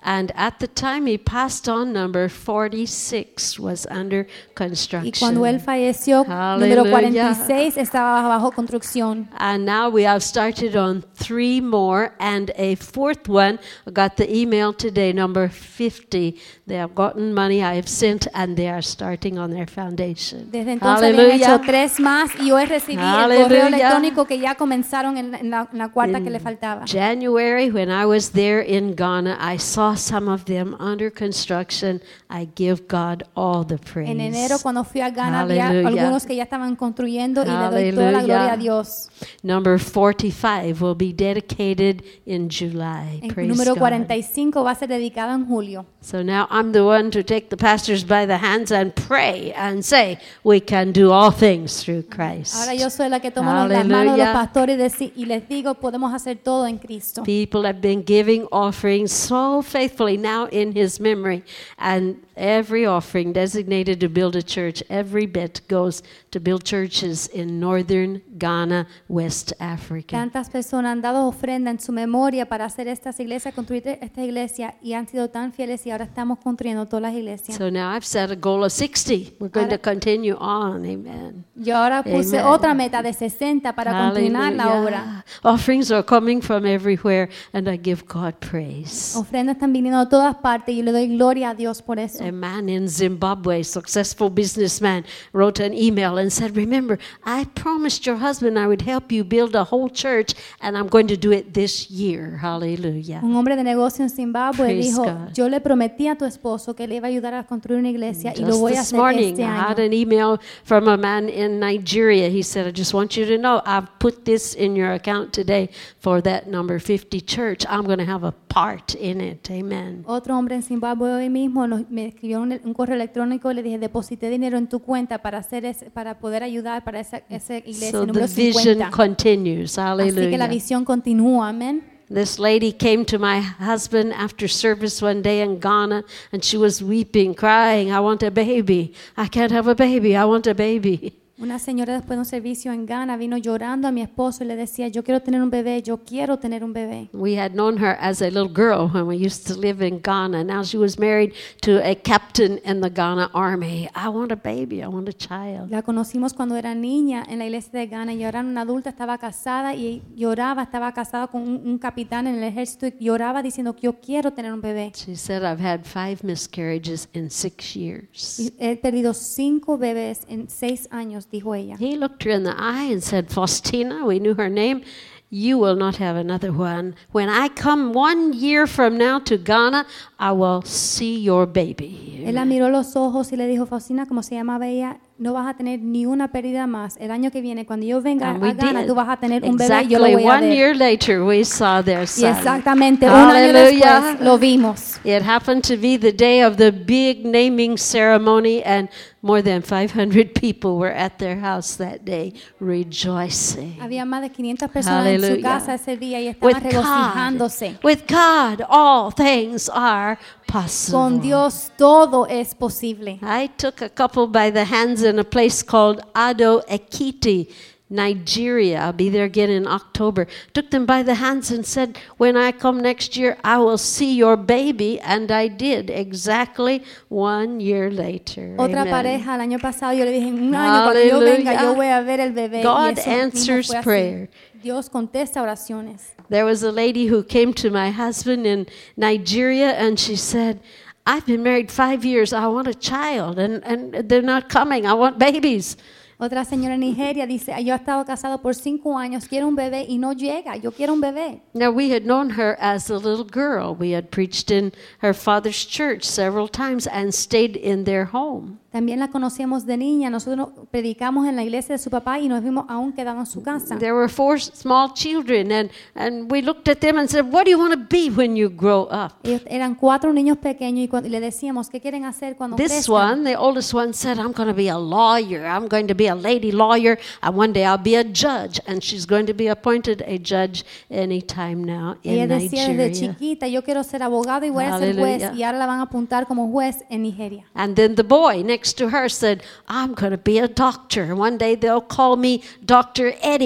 Speaker 5: And at the time he passed on, number forty-six was under construction.
Speaker 4: Y cuando él falleció,
Speaker 5: Hallelujah.
Speaker 4: número cuarenta y seis estaba bajo construcción.
Speaker 5: And now we have started on three more, and a fourth one. I got the email today, number fifty. They have gotten money I have sent, and they are starting on their foundation.
Speaker 4: Desde entonces habían hecho
Speaker 5: Hallelujah.
Speaker 4: tres más y hoy recibí el
Speaker 5: Hallelujah.
Speaker 4: correo electrónico que ya comenzaron en, en la, en la cuarta que le faltaba.
Speaker 5: January, when I was there in Ghana, I saw some of them under construction. I give God all the praise.
Speaker 4: En enero, cuando fui a Ghana, había
Speaker 5: Hallelujah.
Speaker 4: algunos que ya estaban construyendo y le doy toda la gloria a Dios.
Speaker 5: Number forty-five will be dedicated in July.
Speaker 4: El
Speaker 5: Praise
Speaker 4: número
Speaker 5: God.
Speaker 4: cuarenta y cinco va a ser dedicado en julio.
Speaker 5: So now I'm the one to take the pastors by the hands and pray and say, we can do all things through Christ.
Speaker 4: Ahora yo soy la que tomo las manos de los
Speaker 5: Hallelujah.
Speaker 4: pastores y, deci- y les digo, podemos hacer todo en Cristo.
Speaker 5: People have been giving offerings so faithfully now in his memory, and every offering designated to build a church, every bit goes to build churches in northern Ghana, West Africa.
Speaker 4: Tantas personas han dado ofrenda en su memoria para hacer estas iglesias, construir esta iglesia y han sido tan fieles y ahora estamos construyendo todas las iglesias.
Speaker 5: So now I've set a goal of sixty. We're going to
Speaker 4: Ahora-
Speaker 5: continue on. Amen.
Speaker 4: Yo ahora puse
Speaker 5: Amen.
Speaker 4: otra meta de sesenta para continuar la obra.
Speaker 5: Hallelujah. Offerings are coming from everywhere, and I give God praise.
Speaker 4: Ofrendas están viniendo de todas partes y le doy gloria a Dios por eso.
Speaker 5: A man in Zimbabwe, successful businessman, wrote an email and said, remember, I promised your husband I would help you build a whole church, and I'm going to do it this year. Hallelujah.
Speaker 4: Un hombre de negocio en Zimbabue
Speaker 5: Praise
Speaker 4: dijo,
Speaker 5: God.
Speaker 4: yo le prometí a tu esposo que le iba a ayudar a construir una iglesia y lo
Speaker 5: Just
Speaker 4: voy a
Speaker 5: this
Speaker 4: hacer
Speaker 5: morning,
Speaker 4: este
Speaker 5: I had
Speaker 4: año.
Speaker 5: an email from a man in Nigeria. He said, I just want you to know, I've put this in your account today for that number fifty church. I'm going to have a part in it. Amen.
Speaker 4: Otro hombre en Zimbabue hoy mismo nos- me escribió un, un correo electrónico y le dije, deposité dinero en tu cuenta para hacer ese- para poder ayudar para esa, esa iglesia
Speaker 5: So the
Speaker 4: número
Speaker 5: vision
Speaker 4: cincuenta.
Speaker 5: continues.
Speaker 4: Así que la
Speaker 5: Hallelujah.
Speaker 4: visión continúa, amén.
Speaker 5: This lady came to my husband after service one day in Ghana, and she was weeping, crying, I want a baby. I can't have a baby. I want a baby.
Speaker 4: Una señora después de un servicio en Ghana vino llorando a mi esposo y le decía, yo quiero tener un bebé, yo quiero tener un bebé.
Speaker 5: We had known her as a little girl when we used to live in Ghana. Now she was married to a captain in the Ghana army. I want a baby. I want a child.
Speaker 4: La conocimos cuando era niña en la iglesia de Ghana y ahora era una adulta, estaba casada y lloraba, estaba casada con un, un capitán en el ejército y lloraba diciendo que yo quiero tener un bebé.
Speaker 5: She said, I've had five miscarriages in six years.
Speaker 4: Y he perdido cinco bebés en seis años, dijo ella.
Speaker 5: He looked her in the eye and said, Faustina, we knew her name, you will not have another one. When I come one year from now to Ghana, I will see your baby.
Speaker 4: Él la miró los ojos y le dijo, Faustina, como se llamaba ella, no vas a tener ni una pérdida más. El año que viene, cuando yo venga
Speaker 5: And we
Speaker 4: a Ghana,
Speaker 5: did.
Speaker 4: tú vas a tener un bebé y yo lo
Speaker 5: Exactly
Speaker 4: voy a
Speaker 5: one
Speaker 4: ver.
Speaker 5: year later, we saw their
Speaker 4: Y
Speaker 5: son.
Speaker 4: exactamente un año
Speaker 5: Hallelujah.
Speaker 4: después lo vimos.
Speaker 5: It happened to be the day of the big naming ceremony, and more than five hundred people were at their house that day rejoicing.
Speaker 4: Había más de quinientas personas en su
Speaker 5: Hallelujah.
Speaker 4: casa ese día y
Speaker 5: With
Speaker 4: estaban
Speaker 5: God,
Speaker 4: regocijándose.
Speaker 5: with God, all things are possible.
Speaker 4: Con Dios todo es posible.
Speaker 5: I took a couple by the hands in a place called Ado Ekiti, Nigeria. I'll be there again in October. Took them by the hands and said, when I come next year, I will see your baby. And I did exactly one year later.
Speaker 4: Otra
Speaker 5: Amen.
Speaker 4: pareja el año pasado yo le dije, en un año cuando yo venga
Speaker 5: Hallelujah.
Speaker 4: yo voy a ver el bebé.
Speaker 5: God
Speaker 4: y eso mismo
Speaker 5: answers
Speaker 4: fue así.
Speaker 5: prayer.
Speaker 4: Dios contesta oraciones.
Speaker 5: There was a lady who came to my husband in Nigeria, and she said, I've been married five years. I want a child, and, and they're not coming. I want babies.
Speaker 4: Otra señora en Nigeria dice, yo he estado casado por cinco años, quiero un bebé y no llega, yo quiero un bebé.
Speaker 5: Now, we had known her as a little girl. We had preached in her father's church several times and stayed in their home.
Speaker 4: También la conocíamos de niña, nosotros predicamos en la iglesia de su papá y nos vimos aún quedado en su casa.
Speaker 5: There were four small children, and, and we looked at them and said, what do you want to be when you grow up?
Speaker 4: Ellos eran cuatro niños pequeños y, cuando, y le decíamos, ¿qué quieren hacer cuando
Speaker 5: This
Speaker 4: crezcan?
Speaker 5: one, the oldest one, said, I'm going to be a lawyer. I'm going to be a lady lawyer, and one day I'll be a judge. And she's going to be appointed a judge anytime now
Speaker 4: Ella
Speaker 5: in
Speaker 4: decía desde
Speaker 5: Nigeria.
Speaker 4: chiquita, yo quiero ser abogado y voy a ser juez,
Speaker 5: Hallelujah.
Speaker 4: y ahora la van a apuntar como juez en Nigeria.
Speaker 5: And then the boy next to her said, I'm going to be a doctor. One day they'll call me Doctor Eddie.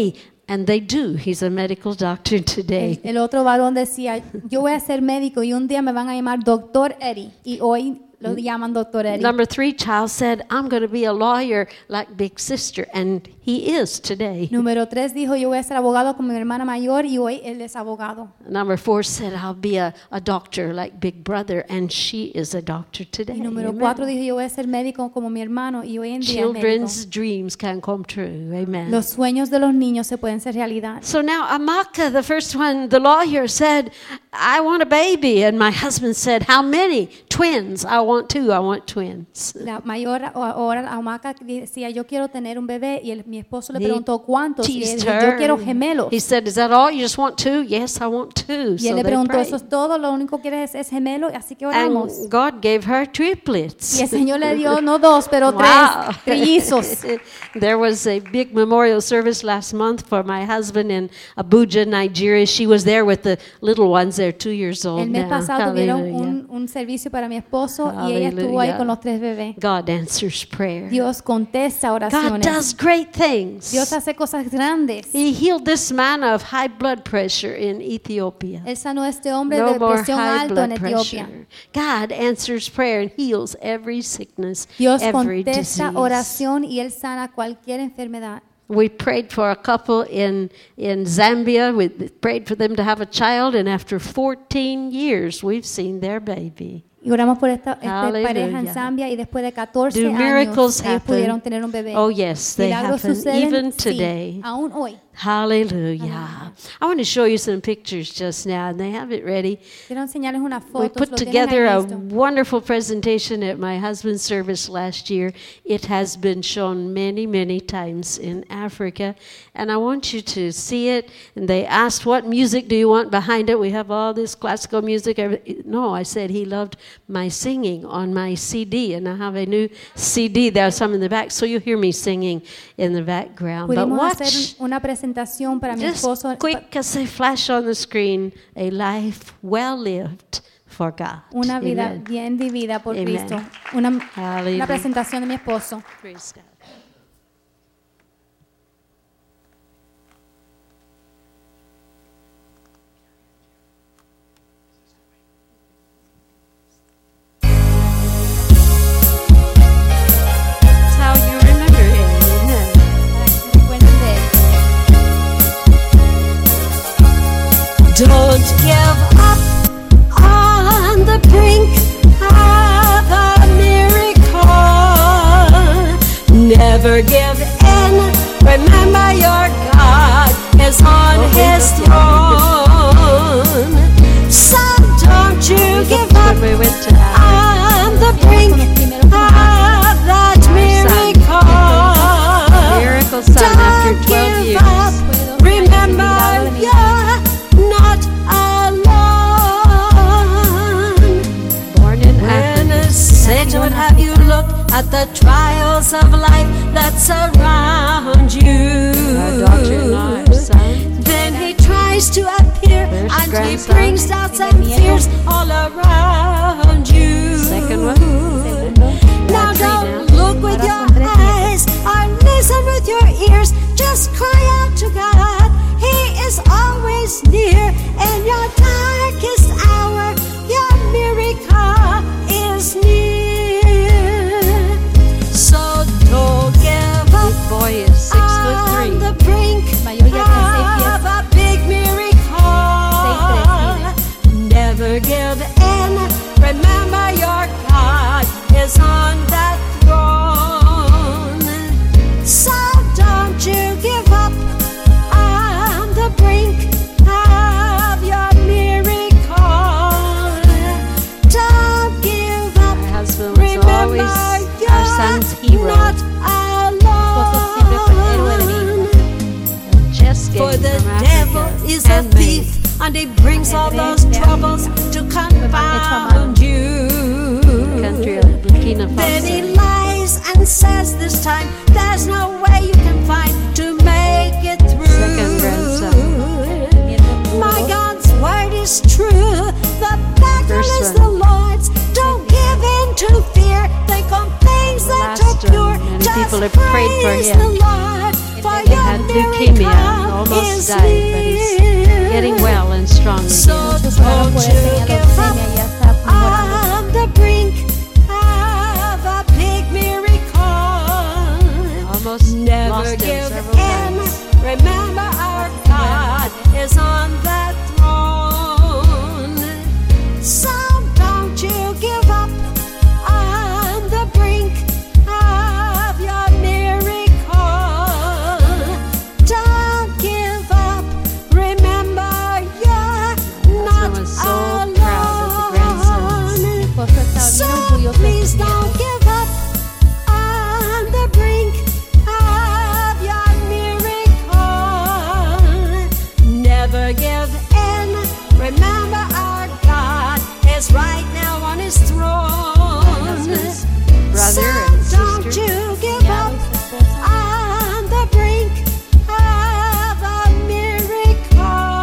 Speaker 5: And they do. He's a medical doctor today.
Speaker 4: El, el otro varón decía, yo voy a ser médico y un día me van a llamar doctor Eddie. Y hoy lo llaman doctor Eddie.
Speaker 5: Number three child said, I'm going to be a lawyer like big sister. And he is today.
Speaker 4: Número tres dijo, yo voy a ser abogado como mi hermana mayor y hoy él es abogado.
Speaker 5: Number four said, I'll be a, a doctor like big brother. And she is a doctor today.
Speaker 4: Y número
Speaker 5: Amen.
Speaker 4: cuatro dijo, yo voy a ser médico como mi hermano y hoy en día es médico.
Speaker 5: Children's dreams can come true. Amen.
Speaker 4: Los sueños de los niños se pueden ser realidad.
Speaker 5: So now Amaka, the first one, the lawyer said, I want a baby. And my husband said, how many? Twins. I want two. I want twins.
Speaker 4: La mayor ahora Amaka decía, yo quiero tener un bebé y el, mi esposo le
Speaker 5: He
Speaker 4: preguntó cuántos y él
Speaker 5: teased
Speaker 4: dijo,
Speaker 5: her.
Speaker 4: yo quiero gemelos.
Speaker 5: He said, is that all? You just want two? Yes, I want two.
Speaker 4: Y él
Speaker 5: So
Speaker 4: le
Speaker 5: they
Speaker 4: preguntó,
Speaker 5: prayed.
Speaker 4: eso es todo, lo único que quieres es, es gemelo, así que oramos.
Speaker 5: And God gave her triplets.
Speaker 4: Y el Señor le dio no dos, pero
Speaker 5: Wow.
Speaker 4: tres trillizos.
Speaker 5: There was a big memorial service last month for my husband in Abuja, Nigeria. She was there with the little ones. They're two years old
Speaker 4: El mes
Speaker 5: now.
Speaker 4: pasado tuvieron
Speaker 5: Hallelujah.
Speaker 4: un, un servicio para mi esposo y ella estuvo ahí
Speaker 5: Hallelujah.
Speaker 4: con los tres bebés.
Speaker 5: God answers prayer.
Speaker 4: Dios contesta
Speaker 5: God
Speaker 4: oraciones.
Speaker 5: does great things.
Speaker 4: Dios hace cosas grandes.
Speaker 5: He healed this man of high blood pressure in Ethiopia.
Speaker 4: Él sanó a este hombre
Speaker 5: No
Speaker 4: de
Speaker 5: more
Speaker 4: presión
Speaker 5: high
Speaker 4: alta en
Speaker 5: blood
Speaker 4: Etiopía.
Speaker 5: pressure. God answers prayer and heals every sickness,
Speaker 4: Dios
Speaker 5: every
Speaker 4: contesta
Speaker 5: disease.
Speaker 4: oración y Él sana cualquier enfermedad.
Speaker 5: We prayed for a couple in, in Zambia. We prayed for them to have a child, and after fourteen years, we've seen their baby.
Speaker 4: Y oramos por esta, esta
Speaker 5: Hallelujah.
Speaker 4: pareja en Zambia y después de catorce
Speaker 5: Do
Speaker 4: años
Speaker 5: miracles
Speaker 4: ellos
Speaker 5: happen?
Speaker 4: pudieron tener un bebé.
Speaker 5: Oh, yes, they
Speaker 4: Milagros
Speaker 5: happen
Speaker 4: suceden,
Speaker 5: even
Speaker 4: sí,
Speaker 5: today.
Speaker 4: aún hoy.
Speaker 5: Hallelujah. I want to show you some pictures just now, and they have it ready.
Speaker 4: Quiero enseñarles unas
Speaker 5: We
Speaker 4: fotos.
Speaker 5: put
Speaker 4: lo tienen
Speaker 5: together
Speaker 4: ahí
Speaker 5: a
Speaker 4: listo.
Speaker 5: wonderful presentation at my husband's service last year. It has been shown many, many times in Africa, and I want you to see it. And they asked, what music do you want behind it? We have all this classical music. Every- No, I said he loved my singing on my C D, and I have a new C D. There's some in the back, so you'll hear me singing in the background. But
Speaker 4: Pudimos
Speaker 5: watch.
Speaker 4: hacer una presentación para mi
Speaker 5: Just
Speaker 4: esposo.
Speaker 5: quick as a flash on the screen, a life well lived for God.
Speaker 4: Una vida
Speaker 5: Amen.
Speaker 4: bien vivida por
Speaker 5: Amen.
Speaker 4: Cristo. Una,
Speaker 5: Hallelujah.
Speaker 4: una presentación de mi esposo.
Speaker 5: Praise God. That's how you remember him. Amen.
Speaker 4: Recuerden de él.
Speaker 5: Don't give up on the brink of a miracle. Never give in. Remember your God is on his throne. So don't you give up on the brink of that miracle. Miracle son after twelve years. Remember you're not alone. Born in Africa. Satan would have you look at the trials of life that surround you.
Speaker 6: Our daughter-in-law, our son.
Speaker 5: Then he tries to appear
Speaker 6: There's
Speaker 5: and he
Speaker 6: grandson.
Speaker 5: brings doubts and fears all around you.
Speaker 6: Second one.
Speaker 5: Now
Speaker 6: Three
Speaker 5: don't
Speaker 6: now.
Speaker 5: look with your eyes or listen with your ears. Just cry out to God. He is always near in your darkest hour. Your miracle is near. So don't give up.
Speaker 6: This boy is six foot
Speaker 5: On
Speaker 6: three.
Speaker 5: the brink
Speaker 4: Mayor ya tiene seis pies.
Speaker 5: of a big miracle. Never give in. Remember your God is on that throne. So don't you give up on the brink of your miracle. Don't give up.
Speaker 6: My husband was
Speaker 5: Remember
Speaker 6: always our
Speaker 5: you're
Speaker 6: son's hero.
Speaker 5: not
Speaker 4: Esposo siempre fue el héroe de mi
Speaker 5: alone.
Speaker 6: Just
Speaker 5: For
Speaker 6: getting
Speaker 5: the
Speaker 6: from
Speaker 5: devil
Speaker 6: Africa.
Speaker 5: is a
Speaker 6: Handmade.
Speaker 5: thief, and he brings all those troubles to confound you.
Speaker 6: Country of Burkina
Speaker 5: Then he
Speaker 6: Faso.
Speaker 5: lies and says this time, there's no way you can find to make it through.
Speaker 6: Second grandson.
Speaker 5: My God's word is true. The battle
Speaker 6: First
Speaker 5: is
Speaker 6: one.
Speaker 5: the Lord's. Don't give in to fear. Think on things that
Speaker 6: Last
Speaker 5: are pure.
Speaker 6: one. Many
Speaker 5: Just
Speaker 6: people have prayed for
Speaker 5: praise
Speaker 6: him.
Speaker 5: the Lord.
Speaker 4: For
Speaker 5: He had leukemia and almost died, but he's getting well and strong again.
Speaker 3: So
Speaker 4: Muchos oraron por él, tenía leucemia y ya está mejorando.
Speaker 7: On the brink of a big miracle.
Speaker 5: Almost
Speaker 7: Never
Speaker 5: lost him
Speaker 7: give
Speaker 5: several
Speaker 7: in.
Speaker 5: times.
Speaker 7: Remember our God is on the throne. So don't you give up on the brink of your miracle. Don't give up. Remember you're not
Speaker 5: was so proud of the grandsons.
Speaker 7: alone.
Speaker 4: Esposo está bien
Speaker 7: So
Speaker 4: orgulloso de
Speaker 7: please
Speaker 4: sus
Speaker 7: don't
Speaker 4: nietos.
Speaker 7: give up on the brink of your miracle. Never give in. Remember our God is right now on his throne.
Speaker 5: Husband's brother
Speaker 7: So
Speaker 5: and
Speaker 7: don't
Speaker 5: sister.
Speaker 7: you give up
Speaker 4: Cuñado y su esposa.
Speaker 7: on the brink of a miracle.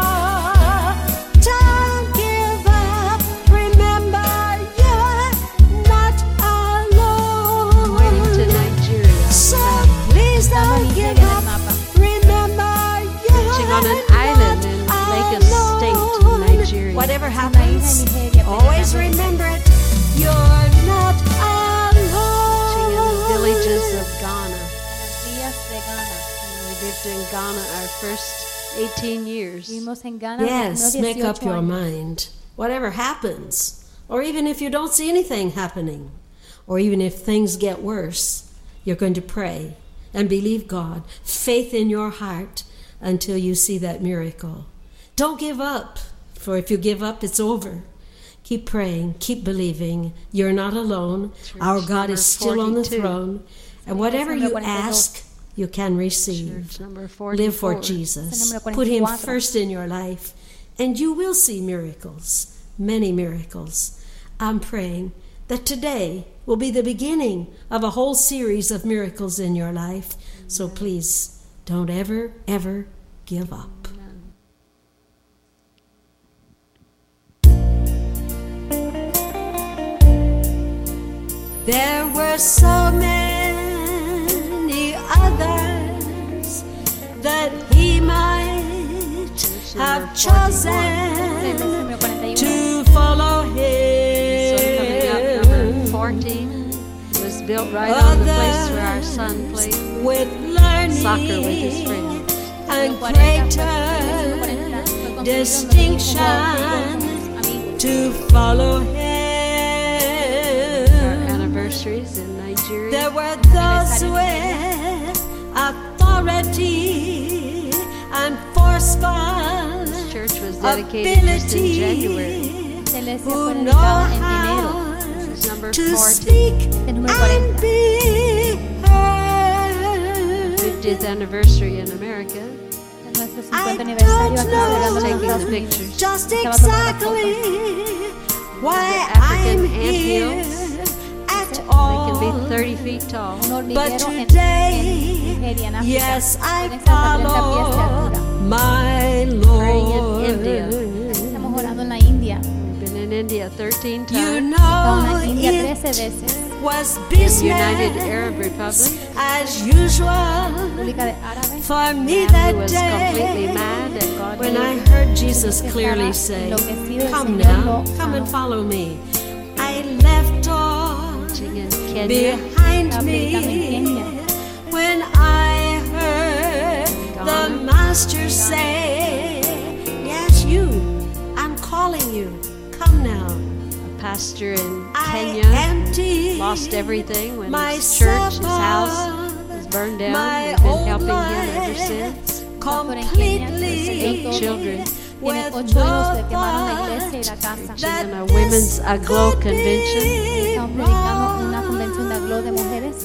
Speaker 7: Don't give up. Remember you're not
Speaker 5: Waiting to
Speaker 7: alone.
Speaker 5: Nigeria.
Speaker 7: So please
Speaker 4: Estando en
Speaker 7: don't
Speaker 4: Nigeria
Speaker 7: give
Speaker 4: en el
Speaker 7: up.
Speaker 4: mapa.
Speaker 7: Remember you're
Speaker 5: Preaching on an
Speaker 7: not
Speaker 5: island in Lagos State in
Speaker 7: alone.
Speaker 5: Nigeria.
Speaker 7: Whatever
Speaker 4: Una isla en
Speaker 7: happens,
Speaker 4: Nigeria.
Speaker 7: always
Speaker 4: predicando.
Speaker 7: remember it. You're not
Speaker 5: Preaching in the villages
Speaker 7: alone.
Speaker 5: of Ghana.
Speaker 4: Las villas de Ghana.
Speaker 5: We lived in Ghana our first eighteen years.
Speaker 4: Vivimos en Ghana los
Speaker 7: Yes,
Speaker 4: primeros
Speaker 7: make up
Speaker 4: dieciocho
Speaker 7: your
Speaker 4: años.
Speaker 7: mind. Whatever happens, or even if you don't see anything happening, or even if things get worse, you're going to pray and believe God, faith in your heart until you see that miracle. Don't give up, for if you give up, it's over. Keep praying, keep believing. You're not alone. Our God
Speaker 5: number
Speaker 7: is still on the
Speaker 5: forty-two.
Speaker 7: throne. And whatever
Speaker 4: Número
Speaker 7: you
Speaker 4: cuarenta y dos.
Speaker 7: ask, you can receive.
Speaker 5: Church number
Speaker 7: Live
Speaker 5: forty-four.
Speaker 7: for Jesus.
Speaker 4: Número
Speaker 7: Put him
Speaker 4: cuarenta y cuatro.
Speaker 7: first in your life, and you will see miracles, many miracles. I'm praying that today will be the beginning of a whole series of miracles in your life. So please, don't ever, ever give up. There were so many others that he might have chosen
Speaker 4: Número cuarenta y uno.
Speaker 7: to follow
Speaker 5: So coming up, number
Speaker 7: him
Speaker 5: fourteen was built right on the place where our son played
Speaker 7: with learning
Speaker 5: soccer with his friends.
Speaker 7: and
Speaker 4: cuarenta,
Speaker 7: greater
Speaker 4: fue construido en los
Speaker 7: distinction
Speaker 4: amigos.
Speaker 7: to follow
Speaker 5: Our
Speaker 7: him.
Speaker 5: anniversaries in Nigeria.
Speaker 7: There were those with authority and forceful
Speaker 5: This church was dedicated just in January.
Speaker 7: ability
Speaker 4: Esta iglesia
Speaker 7: who
Speaker 4: fue
Speaker 7: know
Speaker 4: dedicada en enero.
Speaker 7: how
Speaker 5: This is number
Speaker 7: to
Speaker 5: forty.
Speaker 7: speak
Speaker 4: Este número
Speaker 7: and
Speaker 4: cuarenta.
Speaker 7: be heard.
Speaker 5: fiftieth anniversary in America.
Speaker 4: En nuestro
Speaker 7: I
Speaker 4: cincuenta aniversario
Speaker 7: don't
Speaker 4: aquí celebrando en
Speaker 7: know
Speaker 5: Taking
Speaker 4: Estados
Speaker 5: the
Speaker 4: Unidos.
Speaker 5: pictures.
Speaker 7: just
Speaker 4: Estaba tomando
Speaker 7: exactly why
Speaker 5: The African
Speaker 7: I'm
Speaker 5: ant
Speaker 7: here
Speaker 5: hills.
Speaker 7: at
Speaker 5: They
Speaker 7: all.
Speaker 5: can be thirty feet tall.
Speaker 4: Un
Speaker 7: But
Speaker 4: hormiguero en,
Speaker 7: today,
Speaker 4: en Nigeria, en África.
Speaker 7: yes, I
Speaker 4: Pueden hasta treinta pies de
Speaker 7: follow
Speaker 4: altura.
Speaker 7: my
Speaker 5: Praying in India.
Speaker 7: Lord.
Speaker 4: Estamos orando en la India.
Speaker 5: We've been in India thirteen
Speaker 7: You
Speaker 5: times.
Speaker 4: Estamos
Speaker 7: know
Speaker 4: en India
Speaker 7: it
Speaker 4: trece veces.
Speaker 7: was
Speaker 5: United
Speaker 7: business
Speaker 5: Arab Republic.
Speaker 7: as usual
Speaker 4: República de Árabe.
Speaker 7: for me
Speaker 5: Man
Speaker 7: that
Speaker 5: who was completely
Speaker 7: day
Speaker 5: mad and God
Speaker 7: when I
Speaker 5: knew.
Speaker 7: heard Jesus clearly say,
Speaker 4: enloquecido, el
Speaker 7: "Come
Speaker 4: Señor
Speaker 7: now,
Speaker 4: lo
Speaker 7: come and
Speaker 4: sanó.
Speaker 7: follow me." I left all
Speaker 5: Preaching in Kenya.
Speaker 7: behind
Speaker 4: Estaba predicando en
Speaker 7: me
Speaker 4: Kenya.
Speaker 7: when I heard the
Speaker 5: Ghana.
Speaker 7: Master say, "Yes, you, I'm calling you. Come now."
Speaker 5: A pastor in
Speaker 7: I
Speaker 5: Kenya
Speaker 7: empty
Speaker 5: lost everything when
Speaker 7: my
Speaker 5: his church, his house
Speaker 7: supper,
Speaker 5: was burned down.
Speaker 7: my
Speaker 5: We've been
Speaker 7: old
Speaker 5: helping him ever
Speaker 7: life
Speaker 5: since.
Speaker 4: Pastor en Kenia,
Speaker 7: completely
Speaker 5: Eight children.
Speaker 4: Tiene
Speaker 7: with
Speaker 4: ocho hijos,
Speaker 7: no
Speaker 4: le quemaron la iglesia y
Speaker 7: thought
Speaker 4: la casa.
Speaker 7: that
Speaker 5: In a women's
Speaker 7: this
Speaker 5: Aglow
Speaker 7: could be
Speaker 5: convention.
Speaker 4: Estamos predicando en una convención de aglow de mujeres.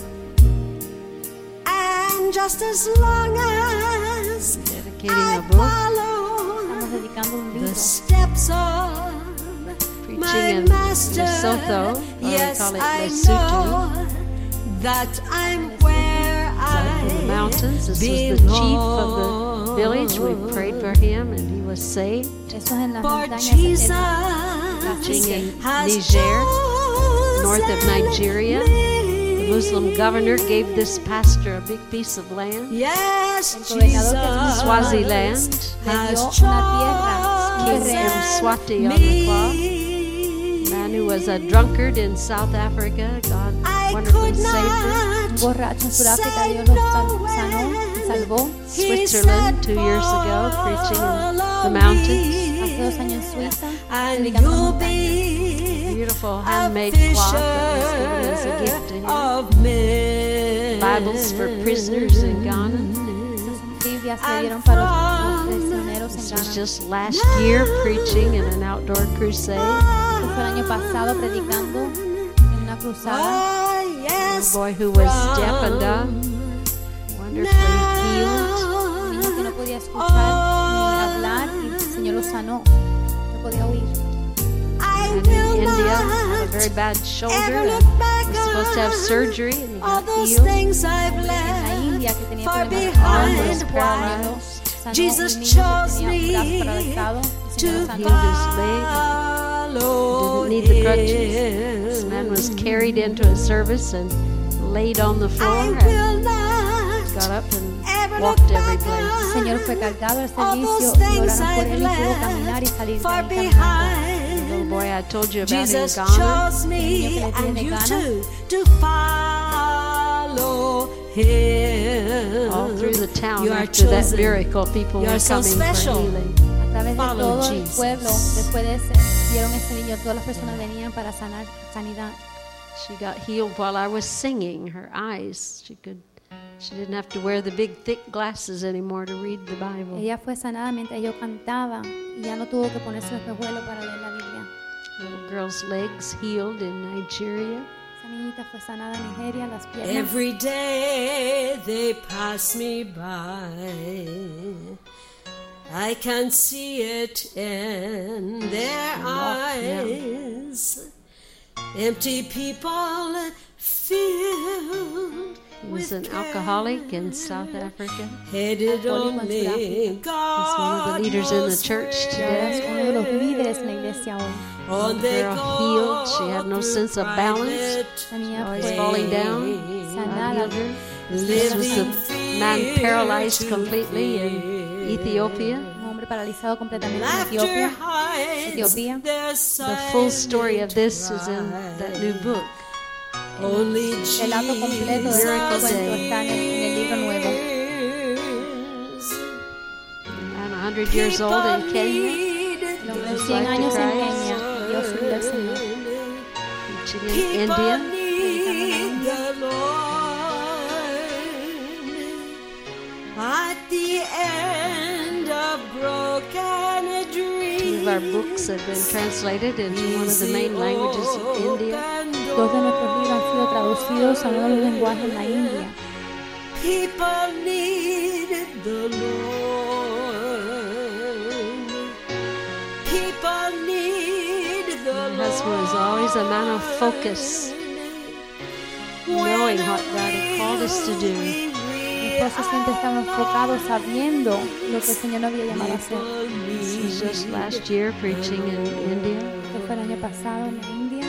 Speaker 7: And just as long as
Speaker 5: Dedicating
Speaker 7: I
Speaker 5: a book.
Speaker 7: follow
Speaker 4: Estamos dedicando un
Speaker 7: the
Speaker 4: libro.
Speaker 7: steps of
Speaker 5: Preaching
Speaker 7: my
Speaker 5: in
Speaker 7: master,
Speaker 5: Lesotho, or we
Speaker 7: yes,
Speaker 5: call it
Speaker 7: I
Speaker 5: Lesotho.
Speaker 7: know that I'm where I
Speaker 5: In the mountains. This was the chief of the village. We prayed for him and he was saved.
Speaker 4: Eso es en las
Speaker 7: For
Speaker 4: montañas.
Speaker 7: Jesus
Speaker 5: Preaching in
Speaker 7: has
Speaker 5: Niger,
Speaker 7: chosen
Speaker 5: north of Nigeria.
Speaker 7: me.
Speaker 5: Muslim governor gave this pastor a big piece of land,
Speaker 7: Yes,
Speaker 4: El gobernador que
Speaker 7: Jesus
Speaker 5: Swaziland.
Speaker 4: le dio
Speaker 7: has
Speaker 4: una tierra, un
Speaker 5: King
Speaker 4: terreno.
Speaker 5: Mswati on the clock. Man who was a drunkard in South Africa, God
Speaker 7: I
Speaker 5: wonderfully
Speaker 7: could
Speaker 5: saved him.
Speaker 4: Un
Speaker 7: not
Speaker 4: borracho en Sudáfrica,
Speaker 7: say
Speaker 4: Dios lo
Speaker 7: no
Speaker 4: sal- sanó y salvó.
Speaker 7: He
Speaker 5: Switzerland two
Speaker 7: said,
Speaker 5: years ago, preaching in the
Speaker 7: "Follow
Speaker 5: mountains.
Speaker 4: Hace
Speaker 7: me,
Speaker 4: dos años en Suiza,
Speaker 7: and
Speaker 4: predicando en
Speaker 7: you'll
Speaker 4: montañas.
Speaker 7: be
Speaker 5: Beautiful
Speaker 7: a
Speaker 5: handmade cloth that was given as a gift to
Speaker 7: fisher
Speaker 5: him.
Speaker 7: of men.
Speaker 5: Bibles for prisoners in Ghana.
Speaker 4: Esas Biblias se dieron para los prisioneros en
Speaker 5: This was
Speaker 4: Ghana.
Speaker 5: just last year preaching in an outdoor crusade.
Speaker 4: Esto fue el año pasado predicando en una cruzada.
Speaker 7: Oh,
Speaker 5: A
Speaker 7: yes,
Speaker 5: boy who was deaf and dumb, wonderfully healed.
Speaker 4: Un niño que no podía escuchar ni hablar y el Señor lo sanó. No podía oír.
Speaker 7: I
Speaker 5: And in
Speaker 7: will
Speaker 5: India, had a
Speaker 7: not
Speaker 5: very bad shoulder
Speaker 7: ever
Speaker 5: and
Speaker 7: look back
Speaker 5: was supposed to have
Speaker 7: on
Speaker 5: surgery and he
Speaker 7: all
Speaker 5: got
Speaker 7: those
Speaker 5: healed.
Speaker 7: things I've
Speaker 4: En la
Speaker 7: left
Speaker 4: India que tenía
Speaker 7: far
Speaker 4: problemas de arm,
Speaker 7: behind.
Speaker 4: was paralítico,
Speaker 7: Why?
Speaker 4: sanó
Speaker 7: Jesus
Speaker 4: un niño que
Speaker 7: chose
Speaker 4: tenía un
Speaker 7: me
Speaker 4: brazo paralizado, el
Speaker 7: to
Speaker 4: Señor lo sanó.
Speaker 5: Healed his leg.
Speaker 7: follow
Speaker 5: Didn't need the crutches. This
Speaker 7: him.
Speaker 5: man was carried into a service and laid on the floor
Speaker 7: I
Speaker 5: and
Speaker 7: will not
Speaker 5: got up and
Speaker 7: ever look
Speaker 5: walked every
Speaker 7: back
Speaker 5: place.
Speaker 4: El Señor fue cargado al
Speaker 7: all
Speaker 4: servicio
Speaker 7: those
Speaker 4: y
Speaker 7: things
Speaker 4: oraron por
Speaker 7: I've
Speaker 4: él y pudo caminar y
Speaker 7: left
Speaker 4: salir de
Speaker 7: far
Speaker 4: ahí caminando.
Speaker 5: The little
Speaker 7: behind.
Speaker 5: boy I told you about in
Speaker 7: Jesus
Speaker 5: Ghana,
Speaker 7: chose me
Speaker 4: niño que le
Speaker 7: and
Speaker 4: tiene
Speaker 7: you
Speaker 4: Ghana.
Speaker 7: too to follow him.
Speaker 5: all through the town
Speaker 7: You are
Speaker 5: after that
Speaker 7: chosen.
Speaker 5: miracle, people
Speaker 7: You
Speaker 5: were
Speaker 7: are so
Speaker 5: coming
Speaker 7: special.
Speaker 5: for healing.
Speaker 4: A través de
Speaker 7: Follow
Speaker 4: todo el
Speaker 7: Jesus.
Speaker 4: pueblo, después de ese, vieron ese niño, todas las personas venían para sanar, sanidad.
Speaker 5: She got healed while I was singing. Her eyes, she could, she didn't have to wear the big thick glasses anymore to read the Bible.
Speaker 4: Ella fue sanada mientras yo cantaba y ya no tuvo que ponerse los espejuelos para leer la Biblia.
Speaker 5: Little girl's legs healed in Nigeria.
Speaker 4: Esa niñita fue sanada en Nigeria, las piernas.
Speaker 7: Every day they pass me by, I can see it in their eyes. Empty people filled
Speaker 5: He was
Speaker 7: with
Speaker 5: an alcoholic in South Africa.
Speaker 7: headed
Speaker 4: Alcohólico en
Speaker 7: only
Speaker 4: Sudáfrica.
Speaker 5: He's one of the
Speaker 7: God
Speaker 5: leaders in the
Speaker 7: knows
Speaker 5: church
Speaker 4: Y ahora es uno de los
Speaker 7: where.
Speaker 4: líderes en la iglesia hoy.
Speaker 7: On
Speaker 5: The
Speaker 7: they
Speaker 5: girl
Speaker 7: go
Speaker 5: healed. She had no
Speaker 7: through
Speaker 5: sense of balance.
Speaker 4: La niña
Speaker 5: Always
Speaker 4: fue
Speaker 5: falling down. God
Speaker 4: sanada.
Speaker 5: healed her. This was
Speaker 7: living
Speaker 5: the man paralyzed completely in Ethiopia.
Speaker 4: Un hombre paralizado completamente en
Speaker 7: Laughter
Speaker 4: Etiopía.
Speaker 7: hides
Speaker 4: Etiopía.
Speaker 7: their
Speaker 5: The full story of this is in that new book.
Speaker 7: Only
Speaker 4: El relato completo de este
Speaker 5: Miracle
Speaker 4: cuento
Speaker 5: Day.
Speaker 4: está en el, en el libro nuevo.
Speaker 5: And one hundred years old in Kenya,
Speaker 4: Los cien años en Kenya, Dios subió al Señor.
Speaker 5: preaching in India.
Speaker 7: need the Lord at the end of broken dreams.
Speaker 5: Two of our books have been translated into one of the main languages of India.
Speaker 4: Dos de nuestros libros han sido traducidos a uno de los lenguajes en la India.
Speaker 7: People need the Lord. People need the
Speaker 5: My
Speaker 7: Lord.
Speaker 5: husband was always a man of focus, knowing what God had called us to do.
Speaker 4: Mi esposo siempre estaba enfocado sabiendo lo que el Señor nos había llamado a hacer.
Speaker 5: This was just last year preaching in India.
Speaker 4: Esto fue el año pasado en la India.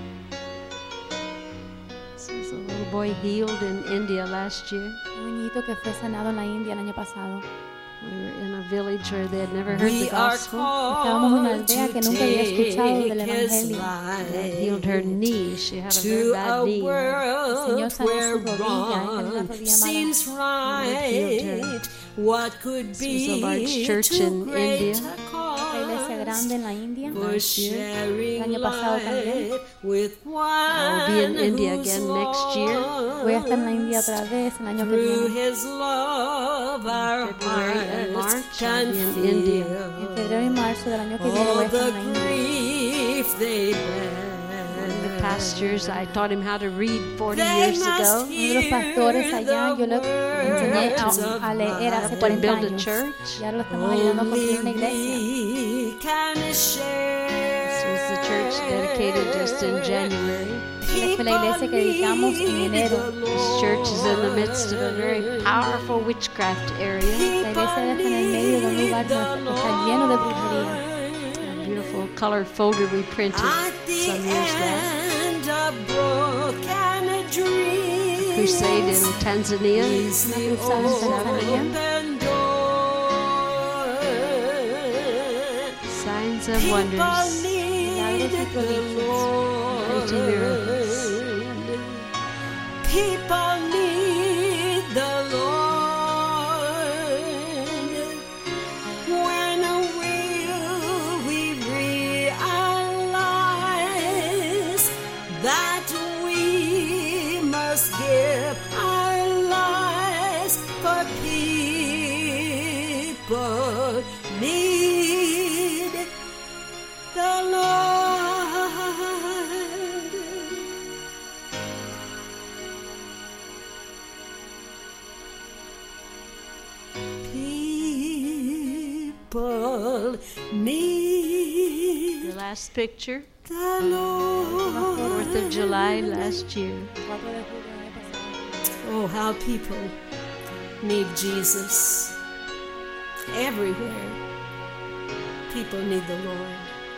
Speaker 5: This was a little boy healed in India last year.
Speaker 4: Un niñito que fue sanado en la India el año pasado.
Speaker 5: We were in a village where they had never heard the
Speaker 7: We are
Speaker 5: gospel.
Speaker 4: Estábamos en una
Speaker 7: called
Speaker 4: aldea
Speaker 7: to
Speaker 4: que nunca había escuchado del
Speaker 7: take his
Speaker 4: Evangelio.
Speaker 5: God healed her
Speaker 7: life
Speaker 5: knee. She had a very
Speaker 7: to
Speaker 5: bad
Speaker 7: a
Speaker 5: knee.
Speaker 7: world
Speaker 4: Señor sanó
Speaker 7: where
Speaker 4: su rodilla, ella tenía una
Speaker 7: wrong
Speaker 4: rodilla
Speaker 7: seems right. What could
Speaker 5: This was a
Speaker 7: be
Speaker 5: large church
Speaker 7: too
Speaker 5: in
Speaker 7: great
Speaker 5: India.
Speaker 7: a
Speaker 4: Una iglesia
Speaker 7: cause
Speaker 4: grande en la India.
Speaker 7: for sharing
Speaker 4: El año pasado también.
Speaker 7: light with
Speaker 5: I'll be in
Speaker 7: one
Speaker 5: India
Speaker 7: who's
Speaker 5: again next year.
Speaker 4: Voy a estar en la India otra vez el año que
Speaker 7: through
Speaker 4: viene.
Speaker 7: his love our
Speaker 5: February and
Speaker 7: hearts
Speaker 5: March,
Speaker 7: can
Speaker 5: I'll be in India.
Speaker 4: En
Speaker 7: feel
Speaker 4: febrero y marzo del año que viene voy
Speaker 7: all
Speaker 4: a estar
Speaker 7: the
Speaker 4: en la India.
Speaker 7: grief they
Speaker 5: One of the
Speaker 7: bear.
Speaker 5: pastors, I taught him how to read forty
Speaker 7: They
Speaker 5: years
Speaker 7: must
Speaker 5: ago.
Speaker 4: Uno de los pastores allá, yo le enseñé a, a leer hace
Speaker 5: To
Speaker 4: cuarenta
Speaker 5: build a
Speaker 4: años.
Speaker 5: church.
Speaker 4: Y ahora lo estamos ayudando a construir una
Speaker 7: Only
Speaker 4: iglesia.
Speaker 7: we can share.
Speaker 5: This was the church dedicated just in January.
Speaker 4: Esta fue la iglesia que dedicamos en enero.
Speaker 5: This church is in the midst of a very powerful witchcraft area.
Speaker 4: La iglesia está en el medio de un lugar donde está lleno de brujería.
Speaker 5: A beautiful colored folder we printed
Speaker 7: At the
Speaker 5: some years back.
Speaker 7: end of a broken dream.
Speaker 5: Crusade in Tanzania.
Speaker 7: Is the open door.
Speaker 5: Signs of
Speaker 7: People
Speaker 5: wonders.
Speaker 7: need the
Speaker 5: Mighty
Speaker 7: Lord.
Speaker 5: miracles.
Speaker 7: People need the Lord. When will we realize that we must give our lives for people need the Lord. People need
Speaker 5: The last picture,
Speaker 7: the Lord.
Speaker 5: fourth of July last year.
Speaker 7: Oh, how people need Jesus. Everywhere, people need the Lord.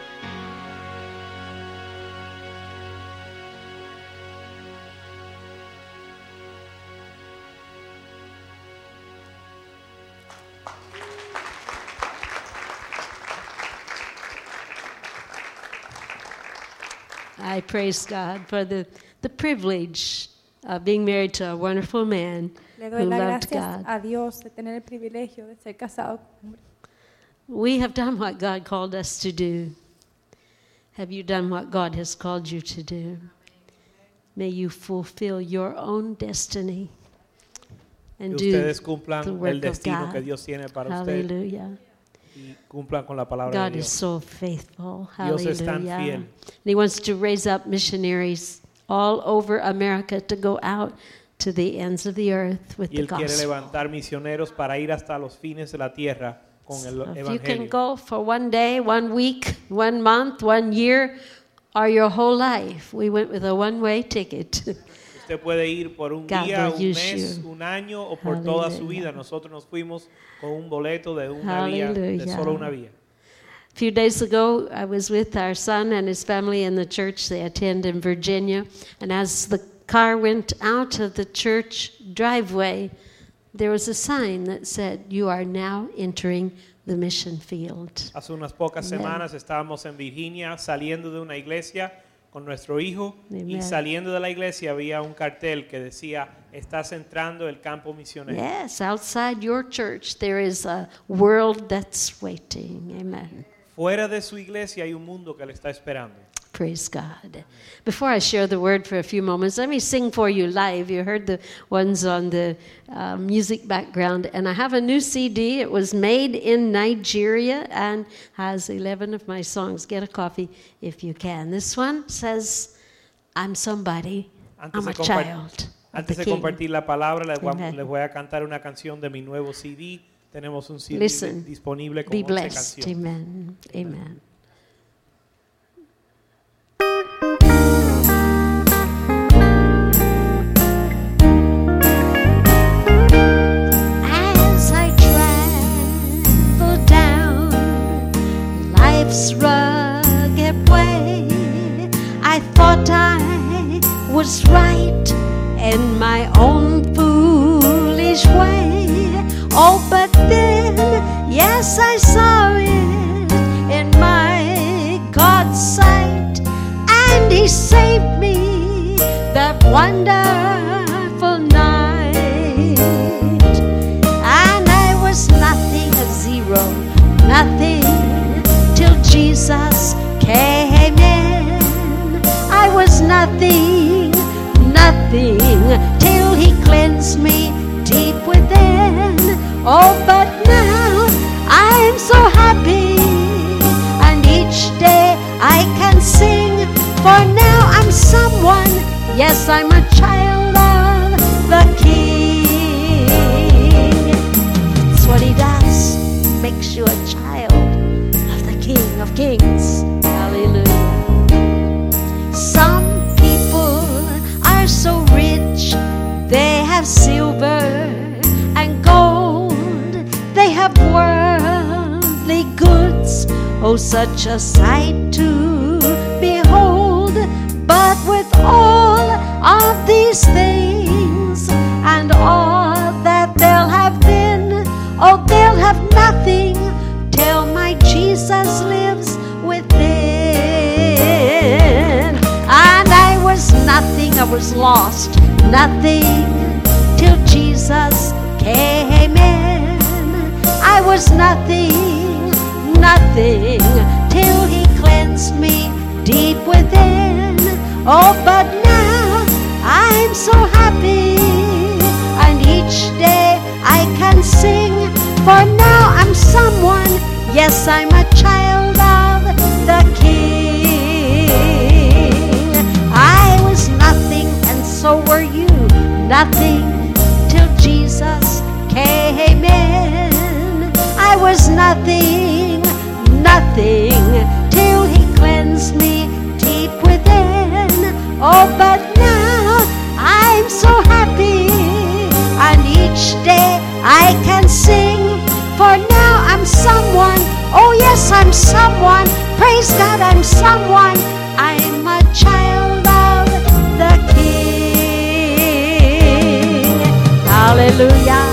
Speaker 5: I praise God for the, the privilege of being married to a wonderful man
Speaker 4: Le
Speaker 5: who
Speaker 4: doy las
Speaker 5: loved
Speaker 4: gracias
Speaker 5: God.
Speaker 4: a Dios de tener el privilegio de ser casado con un hombre.
Speaker 5: We have done what God called us to do. Have you done what God has called you to do? May you fulfill your own destiny and
Speaker 8: Que
Speaker 5: do
Speaker 8: ustedes cumplan
Speaker 5: the
Speaker 8: el
Speaker 5: work of
Speaker 8: destino que
Speaker 5: God.
Speaker 8: Dios tiene para ustedes
Speaker 5: Hallelujah.
Speaker 8: y cumplan con la palabra
Speaker 5: God
Speaker 8: de
Speaker 5: is
Speaker 8: Dios.
Speaker 5: so faithful.
Speaker 8: Dios es tan
Speaker 5: Hallelujah.
Speaker 8: fiel.
Speaker 5: And He wants to raise up missionaries all over America to go out to the ends of the earth with
Speaker 8: Y
Speaker 5: the
Speaker 8: Él quiere
Speaker 5: gospel.
Speaker 8: levantar misioneros para ir hasta los fines de la tierra con el
Speaker 5: If you can
Speaker 8: evangelio.
Speaker 5: go for one day, one week, one month, one year, or your whole life, we went with a one-way ticket.
Speaker 8: Usted puede ir por un
Speaker 5: God
Speaker 8: día,
Speaker 5: will
Speaker 8: un
Speaker 5: use
Speaker 8: mes,
Speaker 5: you.
Speaker 8: un año o por toda su
Speaker 5: Hallelujah.
Speaker 8: vida. Nosotros nos fuimos con un boleto de una vía, de
Speaker 5: Hallelujah.
Speaker 8: solo una vía.
Speaker 5: A few days ago, I was with our son and his family in the church they attend in Virginia. And as the car went out of the church driveway, there was a sign that said, "You are now entering the mission field."
Speaker 8: Hace unas pocas
Speaker 5: Amen.
Speaker 8: semanas estábamos en Virginia saliendo de una iglesia con nuestro hijo y
Speaker 5: Amen.
Speaker 8: saliendo de la iglesia había un cartel que decía, estás entrando el campo misionero.
Speaker 5: Yes, outside your church, there is a world that's waiting. Amen.
Speaker 8: Fuera de su iglesia hay un mundo que le está esperando.
Speaker 5: Praise God. Before I share the word for a few moments, let me sing for you live. You heard the ones on the uh, music background. And I have a new C D. It was made in Nigeria and has eleven of my songs. Get a copy if you can. This one says, "I'm somebody.
Speaker 8: Antes
Speaker 5: I'm
Speaker 8: de
Speaker 5: a
Speaker 8: compar-
Speaker 5: child of
Speaker 8: Antes
Speaker 5: the
Speaker 8: de
Speaker 5: King."
Speaker 8: compartir la palabra, les voy, a,
Speaker 5: Amen.
Speaker 8: les voy a cantar una canción de mi nuevo C D. Tenemos un C D
Speaker 5: Listen.
Speaker 8: disponible con
Speaker 5: Be
Speaker 8: once
Speaker 5: blessed.
Speaker 8: canciones.
Speaker 5: Amen. Amen. As I travel down life's rugged way, I thought I was right in my own foolish way. Oh, but then, yes, I saw it in my God's sight, and He saved me that wonderful night. And I was nothing, a zero, nothing, till Jesus came in. I was nothing, nothing, till He cleansed me deep within. Oh, but now I'm so happy, and each day I can sing, for now I'm someone, yes, I'm a child of the King. That's what He does, makes you a child of the King of Kings. Hallelujah. Some people are so rich, they have silver and gold, they have worldly goods, oh, such a sight to behold. But But with all of these things and all that they'll have been, oh, they'll have nothing till my Jesus lives within. And I was nothing, I was lost, nothing till Jesus came in. I was nothing, nothing till He cleansed me deep within. Oh, but now I'm so happy, and each day I can sing, for now I'm someone, yes, I'm a child of the King. I was nothing, and so were you, nothing till Jesus came in. I was nothing, nothing till He cleansed me deep within. Oh, but now I'm so happy, and each day I can sing, for now I'm someone, oh yes, I'm someone, praise God, I'm someone, I'm a child of the King. Hallelujah.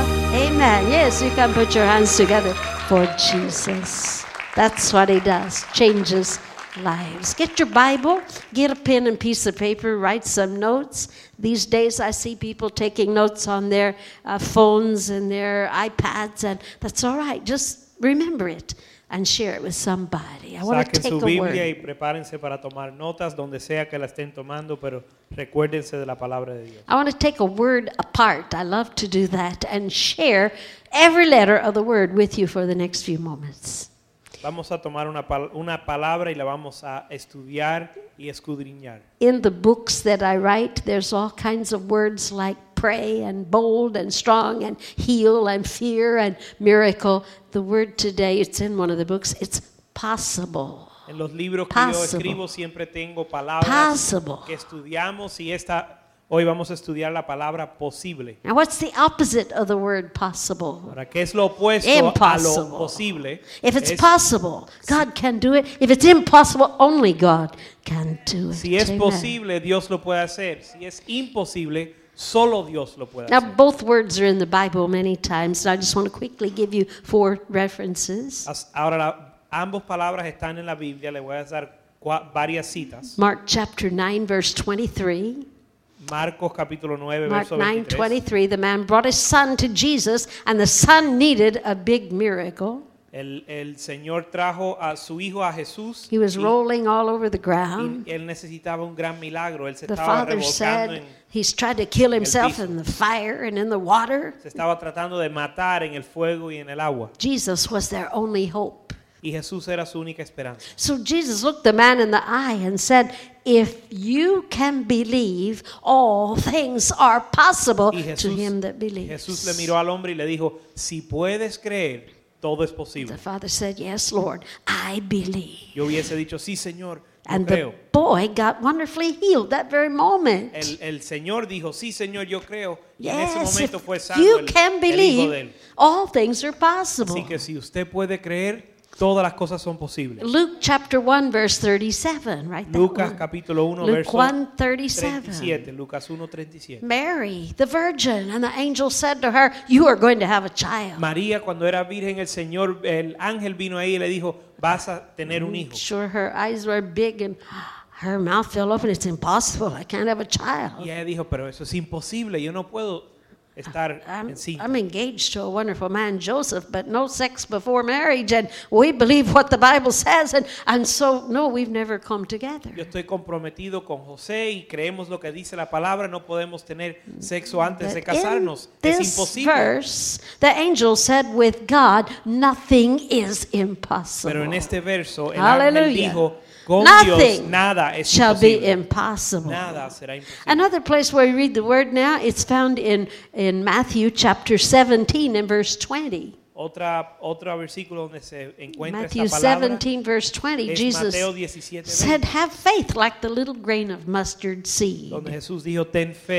Speaker 5: Amen. Yes, you can put your hands together for Jesus. That's what He does, changes lives. Get your Bible, get a pen and piece of paper, write some notes. These days I see people taking notes on their uh, phones and their iPads, and that's all right. Just remember it and share it with somebody. I want to
Speaker 8: Saquen
Speaker 5: take
Speaker 8: su
Speaker 5: a
Speaker 8: Biblia y
Speaker 5: word.
Speaker 8: prepárense para tomar notas donde sea que la estén tomando, pero recuérdense de la palabra de Dios.
Speaker 5: I want to take a word apart. I love to do that and share every letter of the word with you for the next few moments.
Speaker 8: Vamos a tomar una, pal- una palabra y la vamos a estudiar y escudriñar.
Speaker 5: In the books that I write, there's all kinds of words like pray and bold and strong and heal and fear and miracle. The word today, it's in one of the books, it's possible.
Speaker 8: En los libros que yo
Speaker 5: Possible.
Speaker 8: escribo siempre tengo palabras
Speaker 5: Possible.
Speaker 8: que estudiamos y esta, hoy vamos a estudiar la palabra posible.
Speaker 5: Now, what's the opposite of the word possible?
Speaker 8: Ahora, ¿qué es lo opuesto
Speaker 5: Impossible.
Speaker 8: a lo posible?
Speaker 5: If it's
Speaker 8: Es-
Speaker 5: possible, God can do it. If it's impossible, only God can do it.
Speaker 8: Si es
Speaker 5: Amen.
Speaker 8: posible, Dios lo puede hacer. Si es imposible, solo Dios lo puede
Speaker 5: Now,
Speaker 8: hacer.
Speaker 5: both words are in the Bible many times, and I just want to quickly give you four references.
Speaker 8: As- Ahora, la- ambas palabras están en la Biblia. Le voy a dar cua- varias citas.
Speaker 5: Mark chapter nine, verse twenty-three.
Speaker 8: Marcos capítulo nueve,
Speaker 5: Mark
Speaker 8: verso
Speaker 5: nine,
Speaker 8: veintitrés.
Speaker 5: twenty-three. The man brought his son to Jesus, and the son needed a big miracle.
Speaker 8: El, el Señor trajo a su hijo a Jesús.
Speaker 5: He was
Speaker 8: y-
Speaker 5: rolling all over the ground.
Speaker 8: y él necesitaba un gran milagro. Él se
Speaker 5: The
Speaker 8: estaba
Speaker 5: father
Speaker 8: revolcando,
Speaker 5: said
Speaker 8: en-
Speaker 5: he's tried to kill himself
Speaker 8: piso.
Speaker 5: in the fire and in the water.
Speaker 8: se estaba tratando de matar en el fuego y en el agua.
Speaker 5: Jesus was their only hope.
Speaker 8: Y Jesús era su única esperanza.
Speaker 5: So Jesus looked the man in the eye and said, if you can believe, all things are possible
Speaker 8: Y
Speaker 5: to
Speaker 8: Jesús,
Speaker 5: him that believes.
Speaker 8: Jesús le miró al hombre y le dijo, si puedes creer, todo es posible.
Speaker 5: The father said, yes, Lord, I believe.
Speaker 8: Yo hubiese dicho, sí, Señor, yo
Speaker 5: And the
Speaker 8: creo.
Speaker 5: boy got wonderfully healed that very moment.
Speaker 8: El, el Señor dijo, sí, Señor, yo creo. Y en ese
Speaker 5: Yes,
Speaker 8: momento
Speaker 5: if
Speaker 8: fue sano
Speaker 5: you
Speaker 8: el,
Speaker 5: can
Speaker 8: el hijo de
Speaker 5: believe,
Speaker 8: él.
Speaker 5: all things are possible.
Speaker 8: Así que si usted puede creer, todas las cosas son posibles.
Speaker 5: Luke chapter one, verse thirty-seven, right? that
Speaker 8: Lucas
Speaker 5: one.
Speaker 8: capítulo uno,
Speaker 5: Luke
Speaker 8: verso
Speaker 5: one, thirty-seven.
Speaker 8: treinta y siete. Lucas uno, treinta y siete.
Speaker 5: Mary, the virgin, and the angel said to her, you are going to have a child.
Speaker 8: María, cuando era virgen, el Señor, el ángel vino ahí y le dijo, vas a tener un hijo.
Speaker 5: Sure, her eyes were big and her mouth fell open. It's impossible. I can't have a child.
Speaker 8: Y ella dijo, pero eso es imposible, yo no puedo estar
Speaker 5: I'm,
Speaker 8: encinta.
Speaker 5: I'm engaged to a wonderful man, Joseph, but no sex before marriage, and we believe what the Bible says, and, and so, no, we've never come together.
Speaker 8: Yo estoy comprometido con José y creemos lo que dice la palabra, no podemos tener sexo antes de
Speaker 5: But in
Speaker 8: casarnos. Es
Speaker 5: this
Speaker 8: imposible.
Speaker 5: verse, the angel said, with God, nothing is impossible.
Speaker 8: Pero en este verso, el ángel
Speaker 5: Hallelujah.
Speaker 8: dijo, con Dios
Speaker 5: Nothing
Speaker 8: nada es
Speaker 5: shall be
Speaker 8: imposible.
Speaker 5: impossible.
Speaker 8: Nada será imposible.
Speaker 5: Another place where we read the word now, it's found in, in Matthew chapter seventeen and verse twenty.
Speaker 8: Otra, otro versículo donde se encuentra
Speaker 5: Matthew
Speaker 8: esta palabra
Speaker 5: seventeen, verse twenty,
Speaker 8: es
Speaker 5: Jesus
Speaker 8: Mateo diecisiete,
Speaker 5: said, have faith like the little grain of mustard seed.
Speaker 8: donde Jesús dijo, ten fe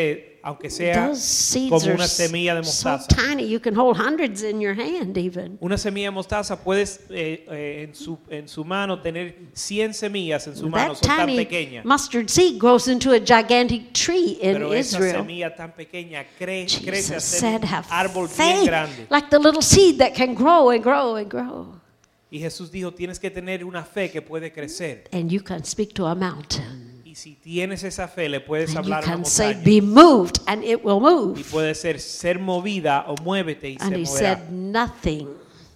Speaker 8: aunque sea
Speaker 5: Those seeds
Speaker 8: como
Speaker 5: are
Speaker 8: una semilla de
Speaker 5: so
Speaker 8: mostaza.
Speaker 5: tiny you can hold hundreds in your hand even.
Speaker 8: Una semilla de mostaza puedes eh, eh, en, su, en su mano tener cien semillas en su mano,
Speaker 5: That
Speaker 8: son tan
Speaker 5: tiny
Speaker 8: pequeñas.
Speaker 5: mustard seed grows into a gigantic tree in
Speaker 8: Pero esa
Speaker 5: Israel.
Speaker 8: semilla tan pequeña cre crece a
Speaker 5: Jesus
Speaker 8: ser
Speaker 5: said,
Speaker 8: un
Speaker 5: have
Speaker 8: árbol bien
Speaker 5: faith,
Speaker 8: grande.
Speaker 5: like the little seed that can grow and grow and grow.
Speaker 8: Y Jesús dijo, tienes que tener una fe que puede crecer.
Speaker 5: And you can speak to a mountain.
Speaker 8: Y si tienes esa fe, le puedes
Speaker 5: And you
Speaker 8: hablar a una
Speaker 5: can say,
Speaker 8: montaña.
Speaker 5: be moved, and it will
Speaker 8: Y
Speaker 5: move.
Speaker 8: puede ser ser movida o muévete y
Speaker 5: And
Speaker 8: se
Speaker 5: he
Speaker 8: moverá.
Speaker 5: said, nothing,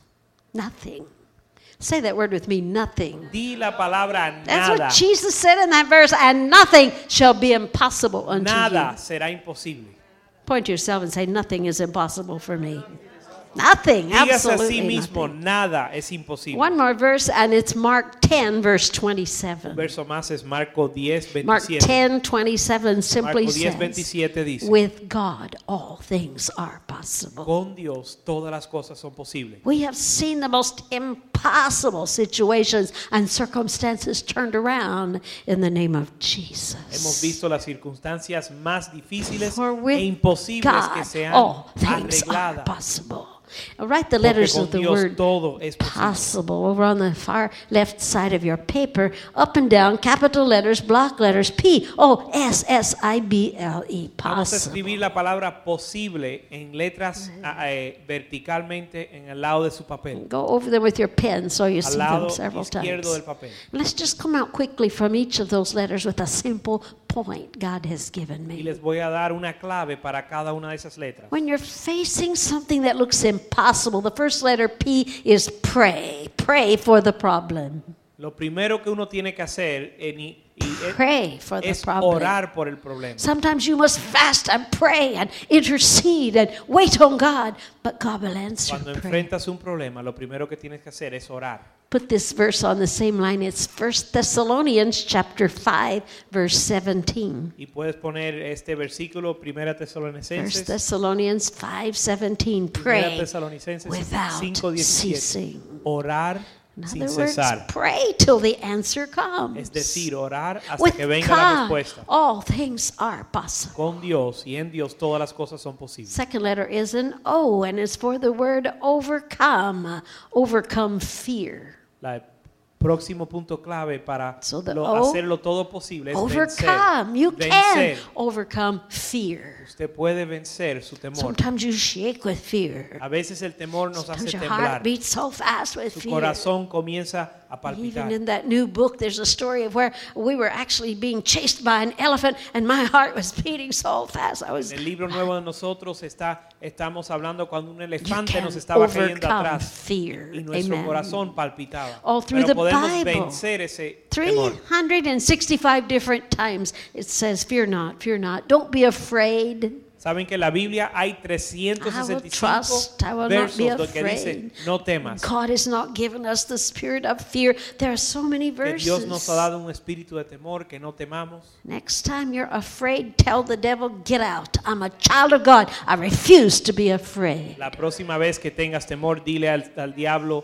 Speaker 5: nothing. Say that word with me, nothing.
Speaker 8: Di la palabra
Speaker 5: That's
Speaker 8: nada.
Speaker 5: what Jesus said in that verse, and nothing shall be impossible unto
Speaker 8: Nada
Speaker 5: you.
Speaker 8: será imposible.
Speaker 5: Point to yourself and say, nothing is impossible for me. Nothing,
Speaker 8: Dígase a sí
Speaker 5: absolutely
Speaker 8: mismo,
Speaker 5: nothing.
Speaker 8: nada es imposible.
Speaker 5: One more verse, and it's Mark ten, verse
Speaker 8: Un
Speaker 5: twenty-seven.
Speaker 8: verso más es Marco diez,
Speaker 5: Mark
Speaker 8: veintisiete.
Speaker 5: ten, twenty-seven simply
Speaker 8: Marco diez,
Speaker 5: says,
Speaker 8: veintisiete dice,
Speaker 5: with God all things are possible.
Speaker 8: con Dios todas las cosas son posibles.
Speaker 5: We have seen the most impossible situations and circumstances turned around in the name of
Speaker 8: Hemos
Speaker 5: Jesus.
Speaker 8: visto las circunstancias más difíciles
Speaker 5: For
Speaker 8: e
Speaker 5: with
Speaker 8: imposibles que
Speaker 5: God,
Speaker 8: se han
Speaker 5: all things are
Speaker 8: arreglado.
Speaker 5: possible. Now write the
Speaker 8: Porque
Speaker 5: letters
Speaker 8: con
Speaker 5: of the
Speaker 8: Dios
Speaker 5: word
Speaker 8: todo es posible.
Speaker 5: possible over on the far left side of your paper, up and down, capital letters, block letters, P O S S I B L E,
Speaker 8: Vamos a
Speaker 5: possible.
Speaker 8: escribir la palabra posible en letras ah, eh, verticalmente en el lado de su papel.
Speaker 5: Go over them with your pen so you
Speaker 8: Al
Speaker 5: see
Speaker 8: lado
Speaker 5: them several
Speaker 8: izquierdo del
Speaker 5: times.
Speaker 8: papel.
Speaker 5: Let's just come out quickly from each of those letters with a simple point God has given
Speaker 8: Y
Speaker 5: me.
Speaker 8: les voy a dar una clave para cada una de esas letras.
Speaker 5: When you're facing something that looks impossible, the first letter P is pray. Pray for the problem.
Speaker 8: Lo primero que uno tiene que hacer en- y es,
Speaker 5: Pray for the
Speaker 8: es
Speaker 5: problem.
Speaker 8: orar por el problema.
Speaker 5: Sometimes you must fast and pray and intercede and wait on God, but God will answer
Speaker 8: Cuando
Speaker 5: prayer.
Speaker 8: enfrentas un problema, lo primero que tienes que hacer es orar.
Speaker 5: Put this verse on the same line. It's First Thessalonians chapter five, verse seventeen.
Speaker 8: Y puedes poner este versículo, Primera
Speaker 5: First
Speaker 8: Tesalonicenses,
Speaker 5: Thessalonians five seventeen.
Speaker 8: Primera
Speaker 5: Pray
Speaker 8: Tesalonicenses
Speaker 5: without
Speaker 8: cinco diecisiete.
Speaker 5: ceasing.
Speaker 8: Orar
Speaker 5: In
Speaker 8: sin
Speaker 5: other words,
Speaker 8: cesar.
Speaker 5: pray till the answer comes.
Speaker 8: Es decir, orar hasta
Speaker 5: With
Speaker 8: que venga la
Speaker 5: God,
Speaker 8: respuesta.
Speaker 5: all things are possible.
Speaker 8: Con Dios y en Dios todas las cosas son posibles.
Speaker 5: Second letter is an O, and it's for the word overcome. Overcome fear.
Speaker 8: La próximo punto clave para
Speaker 5: So the
Speaker 8: lo-
Speaker 5: O,
Speaker 8: hacerlo todo posible es
Speaker 5: Overcome. You
Speaker 8: vencer.
Speaker 5: can
Speaker 8: Vencer.
Speaker 5: overcome fear.
Speaker 8: Usted puede vencer su temor.
Speaker 5: Sometimes you shake with fear.
Speaker 8: A veces el temor nos hace
Speaker 5: Sometimes your
Speaker 8: temblar.
Speaker 5: heart beats so fast with
Speaker 8: Su
Speaker 5: fear.
Speaker 8: corazón comienza a
Speaker 5: Even
Speaker 8: palpitar.
Speaker 5: in that new book, there's a story of where we were actually being chased by an elephant, and my heart was beating so fast. I was
Speaker 8: En el libro nuevo de nosotros está, estamos hablando cuando un
Speaker 5: You
Speaker 8: elefante
Speaker 5: can
Speaker 8: nos estaba cayendo
Speaker 5: overcome
Speaker 8: atrás
Speaker 5: fear.
Speaker 8: y nuestro
Speaker 5: Amen.
Speaker 8: corazón palpitaba.
Speaker 5: All through
Speaker 8: Pero
Speaker 5: the
Speaker 8: podemos
Speaker 5: Bible.
Speaker 8: vencer ese temor.
Speaker 5: three hundred sixty-five different times it says, fear not, fear not. Don't be afraid.
Speaker 8: Saben que en la Biblia hay trescientos sesenta y
Speaker 5: I will trust, I
Speaker 8: cinco
Speaker 5: will not be
Speaker 8: versos que dice
Speaker 5: afraid.
Speaker 8: no temas.
Speaker 5: God has not given us the spirit of fear. There are so many
Speaker 8: Que Dios nos
Speaker 5: verses.
Speaker 8: ha dado un espíritu de temor, que no temamos.
Speaker 5: Next time you're afraid, tell the devil, get out. I'm a child of God. I refuse to be afraid.
Speaker 8: La próxima vez que tengas temor, dile al, al diablo,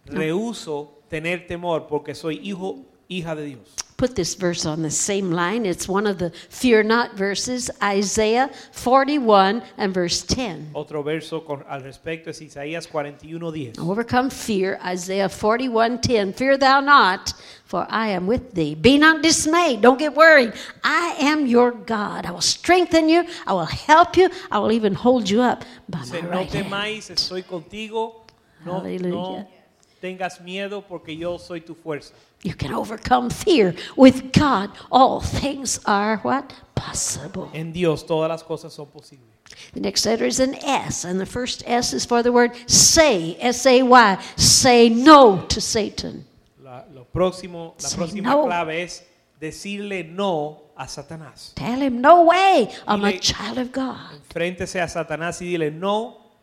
Speaker 8: rehuso tener temor porque soy hijo, hija de Dios.
Speaker 5: Put this verse on the same line. It's one of the fear not verses, Isaiah forty-one and verse ten.
Speaker 8: Otro verso con, al respecto es Isaías cuarenta y uno diez.
Speaker 5: Overcome fear, Isaiah forty-one ten. Fear thou not, for I am with thee. Be not dismayed. Don't get worried. I am your God. I will strengthen you. I will help you. I will even hold you up by my
Speaker 8: Dice, no
Speaker 5: right hand.
Speaker 8: temáis, estoy contigo. No, no
Speaker 5: Aleluya.
Speaker 8: tengas miedo porque yo soy tu fuerza.
Speaker 5: You can overcome fear. With God, all things are what? Possible.
Speaker 8: En Dios todas las cosas son posibles.
Speaker 5: The next letter is an S, and the first S is for the word say, S A Y. Say no to Satan.
Speaker 8: La, lo próximo, la
Speaker 5: Say
Speaker 8: próxima
Speaker 5: no.
Speaker 8: clave es decirle no a Satanás.
Speaker 5: Tell him, no way, I'm a
Speaker 8: Dile-
Speaker 5: child of God.
Speaker 8: Enfréntese a Satanás y dile no,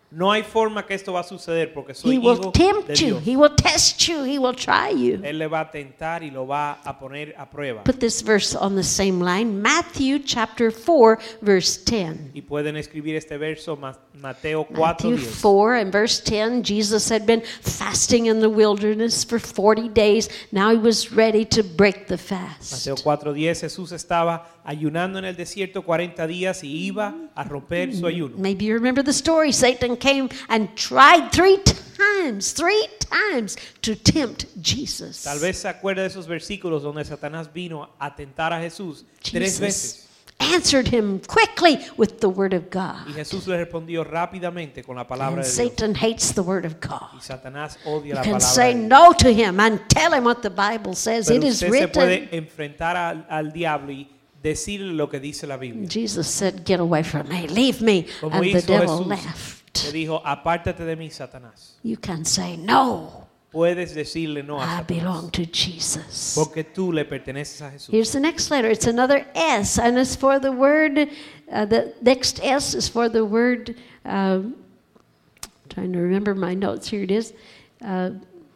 Speaker 8: No hay forma que esto va a suceder porque soy
Speaker 5: He will
Speaker 8: hijo de
Speaker 5: tempt you.
Speaker 8: Dios.
Speaker 5: He will test you. He will try you.
Speaker 8: Él le va a tentar y lo va a poner a prueba.
Speaker 5: Put this verse on the same line. Matthew chapter four, verse ten.
Speaker 8: Y pueden escribir este verso, Ma- Mateo cuatro
Speaker 5: Matthew
Speaker 8: diez.
Speaker 5: four and verse ten, Jesus had been fasting in the wilderness for forty days. Now he was ready to break the fast.
Speaker 8: Mateo cuatro diez, Jesús estaba ayunando en el desierto cuarenta días y iba a romper su ayuno.
Speaker 5: Maybe you remember the story. Satan came and tried three times, three times to tempt Jesus.
Speaker 8: Tal vez se acuerda de esos versículos donde Satanás vino a tentar a Jesús tres
Speaker 5: Jesus
Speaker 8: veces.
Speaker 5: answered him quickly with the word of
Speaker 8: Y
Speaker 5: God.
Speaker 8: Jesús le respondió rápidamente con la palabra
Speaker 5: And
Speaker 8: de Dios.
Speaker 5: Satan hates the word of
Speaker 8: Y
Speaker 5: God.
Speaker 8: Satanás odia
Speaker 5: You
Speaker 8: la
Speaker 5: can
Speaker 8: palabra
Speaker 5: say
Speaker 8: de Dios.
Speaker 5: no to him and tell him what the Bible says.
Speaker 8: Pero
Speaker 5: It is
Speaker 8: usted se puede
Speaker 5: written.
Speaker 8: enfrentar al, al diablo y decirle lo que dice la Biblia.
Speaker 5: Jesus said, "Get away from me, leave me."
Speaker 8: Como
Speaker 5: And the
Speaker 8: hizo
Speaker 5: devil
Speaker 8: Jesús,
Speaker 5: left.
Speaker 8: le dijo, apártate de mí, Satanás.
Speaker 5: You can say no.
Speaker 8: Puedes decirle no a
Speaker 5: I
Speaker 8: Satanás.
Speaker 5: belong to Jesus.
Speaker 8: Porque tú le perteneces a Jesús.
Speaker 5: Here's the next letter. It's another S, and it's for the word. Uh, the next S is for the word. Uh, trying to remember my notes. Here it is. Uh,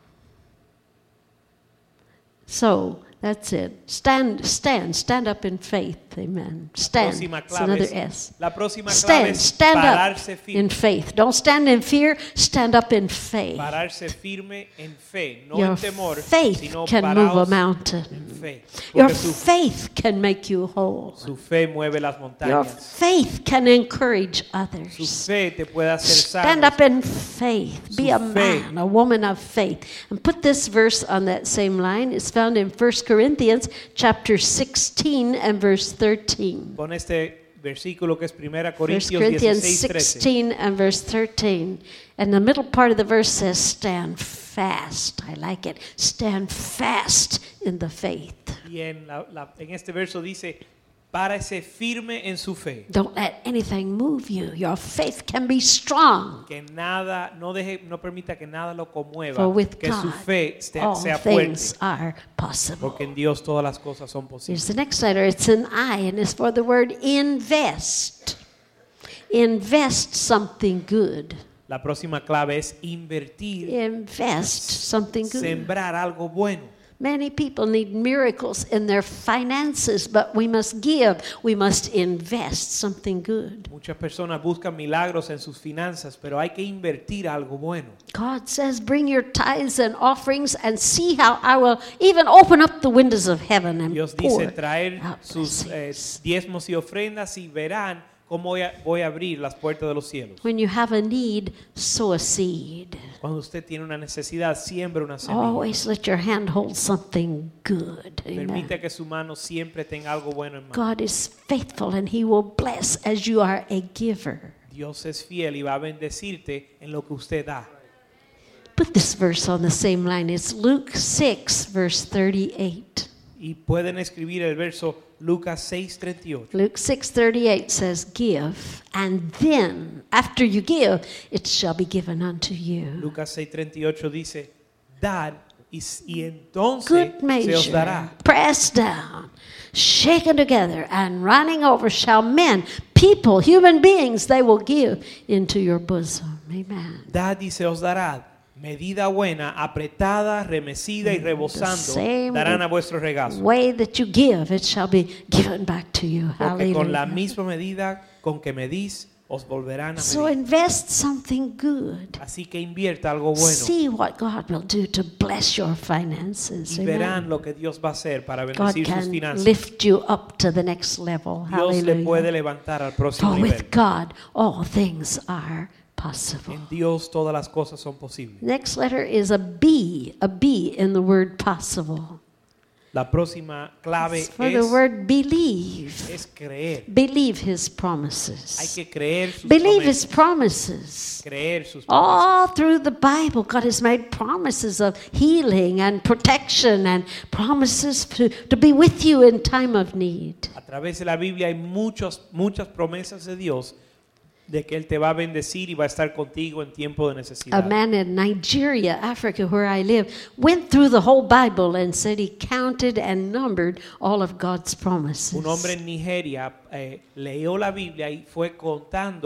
Speaker 5: so that's it. Stand, stand, stand up in faith. Amen. Stand.
Speaker 8: Próxima
Speaker 5: It's
Speaker 8: clave
Speaker 5: another
Speaker 8: es-
Speaker 5: S.
Speaker 8: La próxima clave
Speaker 5: Stand,
Speaker 8: es
Speaker 5: stand
Speaker 8: pararse
Speaker 5: up
Speaker 8: firme.
Speaker 5: in faith. Don't stand in fear. Stand up in faith.
Speaker 8: Pararse firme en fe, no
Speaker 5: Your
Speaker 8: en temor,
Speaker 5: faith
Speaker 8: sino
Speaker 5: can move a
Speaker 8: paraos
Speaker 5: mountain.
Speaker 8: en fe.
Speaker 5: Your
Speaker 8: Porque su,
Speaker 5: faith can make you whole.
Speaker 8: su fe mueve las
Speaker 5: Your
Speaker 8: montañas.
Speaker 5: faith can encourage
Speaker 8: Su
Speaker 5: others.
Speaker 8: fe te puede hacer
Speaker 5: Stand
Speaker 8: sano.
Speaker 5: up in faith. Be
Speaker 8: Su
Speaker 5: a
Speaker 8: fe.
Speaker 5: man, a woman of faith. And put this verse on that same line. It's found in First Corinthians chapter sixteen and verse thirteen.
Speaker 8: Con este versículo que es primera
Speaker 5: First
Speaker 8: Corintios
Speaker 5: Corinthians
Speaker 8: dieciséis trece.
Speaker 5: sixteen and verse thirteen. And the middle part of the verse says, stand fast. I like it. Stand fast in the faith.
Speaker 8: Y en, la- la- en este verso dice, párese firme en su fe.
Speaker 5: Don't let anything move you. Your faith can be strong.
Speaker 8: Que nada, no deje, no permita que nada lo conmueva.
Speaker 5: For with
Speaker 8: Que su
Speaker 5: God,
Speaker 8: fe esté-
Speaker 5: all
Speaker 8: sea
Speaker 5: things
Speaker 8: fuerte.
Speaker 5: are possible.
Speaker 8: Porque en Dios todas las cosas son
Speaker 5: Here's
Speaker 8: posibles.
Speaker 5: the next letter. It's an I, and it's for the word invest. Invest something good.
Speaker 8: La próxima clave es invertir,
Speaker 5: Invest something good.
Speaker 8: sembrar algo bueno.
Speaker 5: Many people need miracles in their finances, but we must give. We must invest something good.
Speaker 8: Muchas personas buscan milagros en sus finanzas, pero hay que invertir algo bueno.
Speaker 5: God says, bring your tithes and offerings and see how I will even open up the windows of heaven and
Speaker 8: Dios
Speaker 5: pour
Speaker 8: dice traer
Speaker 5: out
Speaker 8: sus eh,
Speaker 5: blessings.
Speaker 8: diezmos y ofrendas y verán cómo voy a, voy a abrir las puertas de los cielos.
Speaker 5: When you have a need, sow a seed.
Speaker 8: Cuando usted tiene una necesidad, siembra una semilla.
Speaker 5: Always let your hand hold something good. Amen.
Speaker 8: Permita que su mano siempre tenga algo bueno en mano.
Speaker 5: God is faithful and He will bless as you are a giver.
Speaker 8: Dios es fiel y va a bendecirte en lo que usted da.
Speaker 5: Put this verse on the same line. It's Luke six, verse thirty-eight.
Speaker 8: Y pueden escribir el verso Lucas seis treinta y ocho.
Speaker 5: Luke six thirty-eight says, give, and then, after you give, it shall be given unto you.
Speaker 8: Lucas seis treinta y ocho dice, dad y, y entonces
Speaker 5: Good
Speaker 8: se os
Speaker 5: measure,
Speaker 8: dará.
Speaker 5: pressed down, shaken together, and running over shall men, people, human beings, they will give into your bosom. Amen.
Speaker 8: Dad y se os dará. Medida buena, apretada, remecida y rebosando,
Speaker 5: same
Speaker 8: darán a vuestro regazo.
Speaker 5: Way that you give, it shall be given back to you.
Speaker 8: Porque con la
Speaker 5: Hallelujah.
Speaker 8: misma medida con que medís, os volverán a
Speaker 5: So
Speaker 8: medir.
Speaker 5: invest something good.
Speaker 8: Así que invierta algo bueno
Speaker 5: See what God will do to bless your finances.
Speaker 8: y
Speaker 5: Amen.
Speaker 8: verán lo que Dios va a hacer para
Speaker 5: God
Speaker 8: bendecir sus
Speaker 5: can
Speaker 8: finanzas.
Speaker 5: lift you up to the next level.
Speaker 8: Dios le puede
Speaker 5: Hallelujah.
Speaker 8: levantar al próximo
Speaker 5: For
Speaker 8: nivel.
Speaker 5: with God, all things are possible.
Speaker 8: En Dios todas las cosas son posibles.
Speaker 5: Next letter is a B, a B in the word possible.
Speaker 8: La próxima clave
Speaker 5: It's for the
Speaker 8: es,
Speaker 5: word believe.
Speaker 8: es creer.
Speaker 5: Believe His
Speaker 8: Hay
Speaker 5: promises.
Speaker 8: que creer sus
Speaker 5: Believe His
Speaker 8: promesas.
Speaker 5: promises.
Speaker 8: Creer sus promesas.
Speaker 5: All through the Bible, God has made promises of healing and protection and promises to, to be with you in time of need.
Speaker 8: A través de la Biblia hay muchos, muchas promesas de Dios de que Él te va a bendecir y va a estar contigo en tiempo de
Speaker 5: A
Speaker 8: necesidad.
Speaker 5: man in Nigeria, Africa, where I live, went through the whole Bible and said he counted and numbered all of God's promises.
Speaker 8: Un hombre en Nigeria eh, leyó la Biblia y fue contando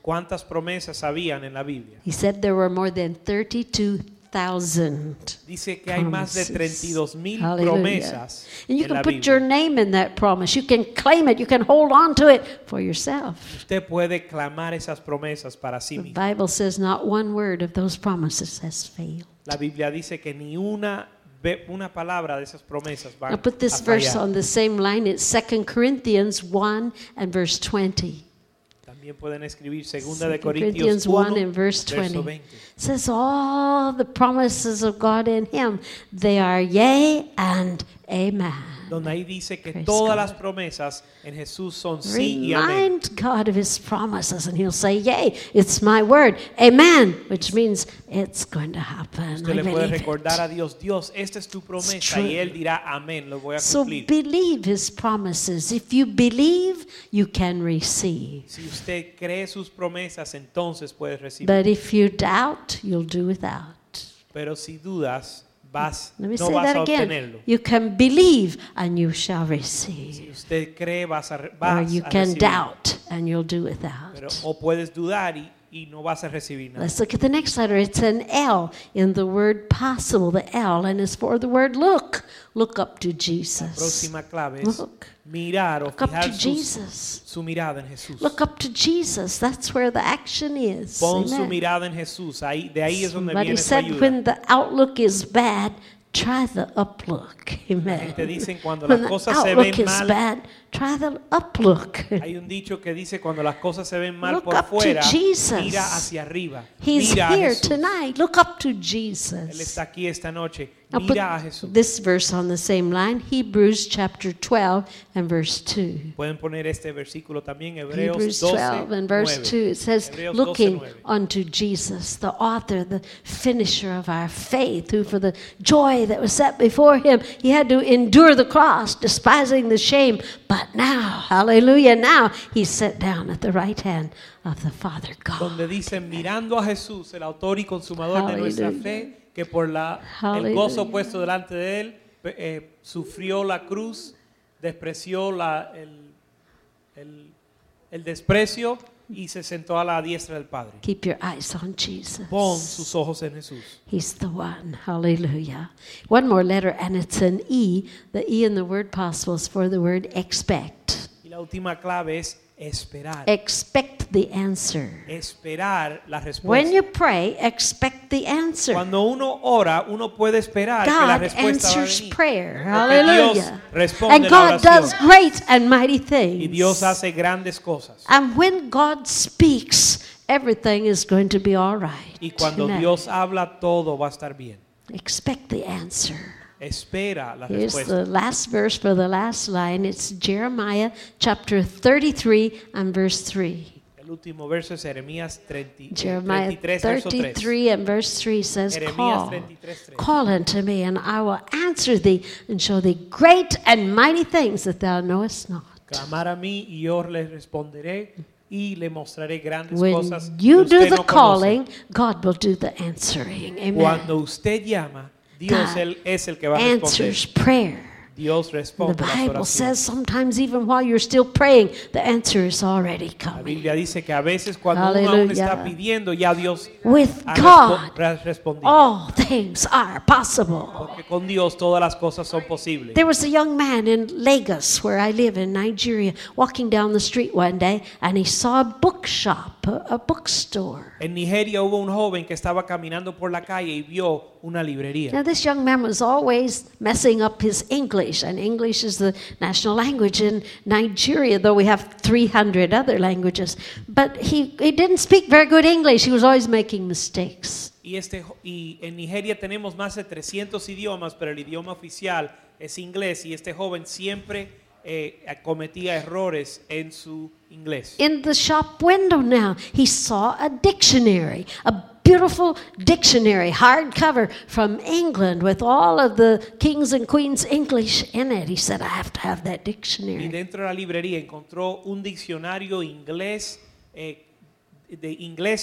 Speaker 8: ¿Cuántas promesas habían en la Biblia?
Speaker 5: He said there were more than thirty-two thousand.
Speaker 8: Dice que hay más de treinta y dos mil
Speaker 5: Hallelujah.
Speaker 8: promesas
Speaker 5: And you
Speaker 8: en la
Speaker 5: can put your
Speaker 8: Biblia.
Speaker 5: name in that promise. You can claim it. You can hold on to it for yourself.
Speaker 8: Usted puede clamar esas promesas para sí
Speaker 5: The
Speaker 8: mismo.
Speaker 5: Bible says not one word of those promises has failed.
Speaker 8: La Biblia dice que ni una ve- una palabra de esas promesas va
Speaker 5: Now put this
Speaker 8: a
Speaker 5: verse
Speaker 8: fallar.
Speaker 5: on the same line. It's Second Corinthians one and verse twenty.
Speaker 8: También pueden escribir segunda de
Speaker 5: Second
Speaker 8: Corintios
Speaker 5: Corinthians one
Speaker 8: uno,
Speaker 5: and verse
Speaker 8: verso
Speaker 5: twenty.
Speaker 8: veinte.
Speaker 5: It says all the promises of God in him, they are yea and amen.
Speaker 8: Donde ahí dice que
Speaker 5: Praise
Speaker 8: todas
Speaker 5: God.
Speaker 8: las promesas en Jesús son sí y amén.
Speaker 5: Remind God of his promises and he'll say, yea, it's my word, amen, which means it's going to happen.
Speaker 8: Usted
Speaker 5: I
Speaker 8: le puede
Speaker 5: believe
Speaker 8: recordar
Speaker 5: it.
Speaker 8: a Dios, Dios, esta es tu promesa
Speaker 5: true.
Speaker 8: y Él dirá amén, lo voy a
Speaker 5: So
Speaker 8: cumplir.
Speaker 5: believe his promises. If you believe, you can receive.
Speaker 8: Si usted cree sus promesas, entonces puedes recibir.
Speaker 5: But if you doubt, you'll do without.
Speaker 8: Pero si dudas, vas,
Speaker 5: Let me
Speaker 8: no
Speaker 5: say
Speaker 8: vas
Speaker 5: that
Speaker 8: a
Speaker 5: again.
Speaker 8: obtenerlo.
Speaker 5: You can believe and you shall
Speaker 8: Si
Speaker 5: receive.
Speaker 8: usted cree, vas a, re-
Speaker 5: Or
Speaker 8: vas
Speaker 5: you
Speaker 8: a
Speaker 5: can
Speaker 8: recibir.
Speaker 5: doubt and you'll do without.
Speaker 8: Pero, o puedes dudar y, y no vas a recibir nada.
Speaker 5: Let's look at the next letter. It's an L in the word possible, the L, and it's for the word look. Look up to
Speaker 8: La
Speaker 5: Jesus.
Speaker 8: próxima clave es
Speaker 5: Look.
Speaker 8: mirar o
Speaker 5: Look up to
Speaker 8: fijar sus-
Speaker 5: Jesus.
Speaker 8: su mirada en Jesús.
Speaker 5: Look up to Jesus. That's where the action is.
Speaker 8: Pon su
Speaker 5: Amen.
Speaker 8: mirada en Jesús. Ahí, de ahí es donde
Speaker 5: Somebody
Speaker 8: viene su
Speaker 5: said
Speaker 8: ayuda.
Speaker 5: when the outlook is bad, try the uplook. Amen.
Speaker 8: Te dicen cuando
Speaker 5: When
Speaker 8: las
Speaker 5: the
Speaker 8: cosas se
Speaker 5: outlook
Speaker 8: ven
Speaker 5: is
Speaker 8: mal.
Speaker 5: bad, try the uplook.
Speaker 8: Hay un dicho que dice cuando las cosas se ven mal
Speaker 5: Look
Speaker 8: por
Speaker 5: up to
Speaker 8: fuera,
Speaker 5: Jesus.
Speaker 8: mira hacia arriba.
Speaker 5: He's
Speaker 8: Mira a
Speaker 5: here
Speaker 8: Jesús.
Speaker 5: tonight. Look up to
Speaker 8: Él
Speaker 5: Jesus.
Speaker 8: está aquí esta noche.
Speaker 5: Now put
Speaker 8: Mira a Jesús.
Speaker 5: this verse on the same line, Hebrews chapter twelve and verse two.
Speaker 8: Pueden poner este versículo también, Hebreos
Speaker 5: Hebrews
Speaker 8: doce,
Speaker 5: twelve and verse
Speaker 8: nueve.
Speaker 5: two. It says,
Speaker 8: Hebreos
Speaker 5: looking
Speaker 8: doce, nueve.
Speaker 5: unto Jesus, the author, the finisher of our faith, who for the joy that was set before him, he had to endure the cross, despising the shame. But now, hallelujah, now he's set down at the right hand of the Father God.
Speaker 8: Donde dice mirando a Jesús, el autor y consumador de nuestra
Speaker 5: Hallelujah.
Speaker 8: fe, que por la, el
Speaker 5: Hallelujah.
Speaker 8: gozo puesto delante de él, pe- eh, sufrió la cruz, despreció la, el, el, el desprecio y se sentó a la diestra del Padre.
Speaker 5: Keep your eyes on Jesus.
Speaker 8: Pon sus ojos en Jesús.
Speaker 5: He's the one. Hallelujah. One more letter, and it's an E. The E in the word possible is for the word expect.
Speaker 8: Y la última clave es esperar.
Speaker 5: Expect the answer.
Speaker 8: Esperar la
Speaker 5: When
Speaker 8: respuesta.
Speaker 5: you pray, expect the answer.
Speaker 8: Cuando uno ora, uno puede esperar que la
Speaker 5: God
Speaker 8: respuesta va a
Speaker 5: answers
Speaker 8: venir.
Speaker 5: prayer.
Speaker 8: Porque Dios
Speaker 5: Hallelujah.
Speaker 8: responde
Speaker 5: And
Speaker 8: la
Speaker 5: God
Speaker 8: oración.
Speaker 5: does great and mighty
Speaker 8: Y Dios
Speaker 5: things.
Speaker 8: hace grandes cosas.
Speaker 5: And when God speaks, everything is going to be all right.
Speaker 8: Y cuando
Speaker 5: Amen.
Speaker 8: Dios habla, todo va a estar bien.
Speaker 5: Expect the answer.
Speaker 8: Espera la
Speaker 5: Here's
Speaker 8: respuesta.
Speaker 5: the last verse for the last line. It's Jeremiah chapter thirty-three and verse three.
Speaker 8: El último verso es Jeremías treinta,
Speaker 5: Jeremiah
Speaker 8: treinta y tres, verso tres.
Speaker 5: thirty-three and verse three says,
Speaker 8: Jeremías
Speaker 5: Call,
Speaker 8: treinta y tres, tres.
Speaker 5: call unto me, and I will answer thee, and show thee great and mighty things that thou knowest not.
Speaker 8: Clamar a mí y yo le responderé y le mostraré grandes
Speaker 5: When
Speaker 8: cosas que
Speaker 5: you do
Speaker 8: usted
Speaker 5: the
Speaker 8: no
Speaker 5: calling,
Speaker 8: conoce.
Speaker 5: God will do the answering. Amen.
Speaker 8: Cuando usted llama, Dios
Speaker 5: God
Speaker 8: él es el que va a responder.
Speaker 5: answers prayer.
Speaker 8: Dios
Speaker 5: The
Speaker 8: responde las
Speaker 5: Bible
Speaker 8: oraciones.
Speaker 5: says sometimes even while you're still praying, the answer is already
Speaker 8: La
Speaker 5: coming.
Speaker 8: Biblia dice que a veces cuando uno aún está
Speaker 5: Hallelujah.
Speaker 8: pidiendo, ya Dios
Speaker 5: With
Speaker 8: ha
Speaker 5: God,
Speaker 8: respo- ha respondido.
Speaker 5: all things are possible.
Speaker 8: Porque con Dios todas las cosas son posibles.
Speaker 5: There was a young man in Lagos, where I live in Nigeria, walking down the street one day, and he saw a bookshop, a, a bookstore.
Speaker 8: En Nigeria hubo un joven que estaba caminando por la calle y vio una librería.
Speaker 5: Now, this young man was always messing up his English, and English is the national language in Nigeria, though we have three hundred other languages. But he, he didn't speak very good English. He was always making mistakes.
Speaker 8: Y, este, jo- y en Nigeria tenemos más de trescientos idiomas, pero el idioma oficial es inglés y este joven siempre eh, cometía errores en su inglés.
Speaker 5: In the shop window now, he saw a dictionary, a beautiful dictionary, hardcover from England with all of the kings and queens English in it. He said, I have to have that
Speaker 8: Y
Speaker 5: dictionary.
Speaker 8: dentro de la librería encontró un diccionario inglés eh, de inglesa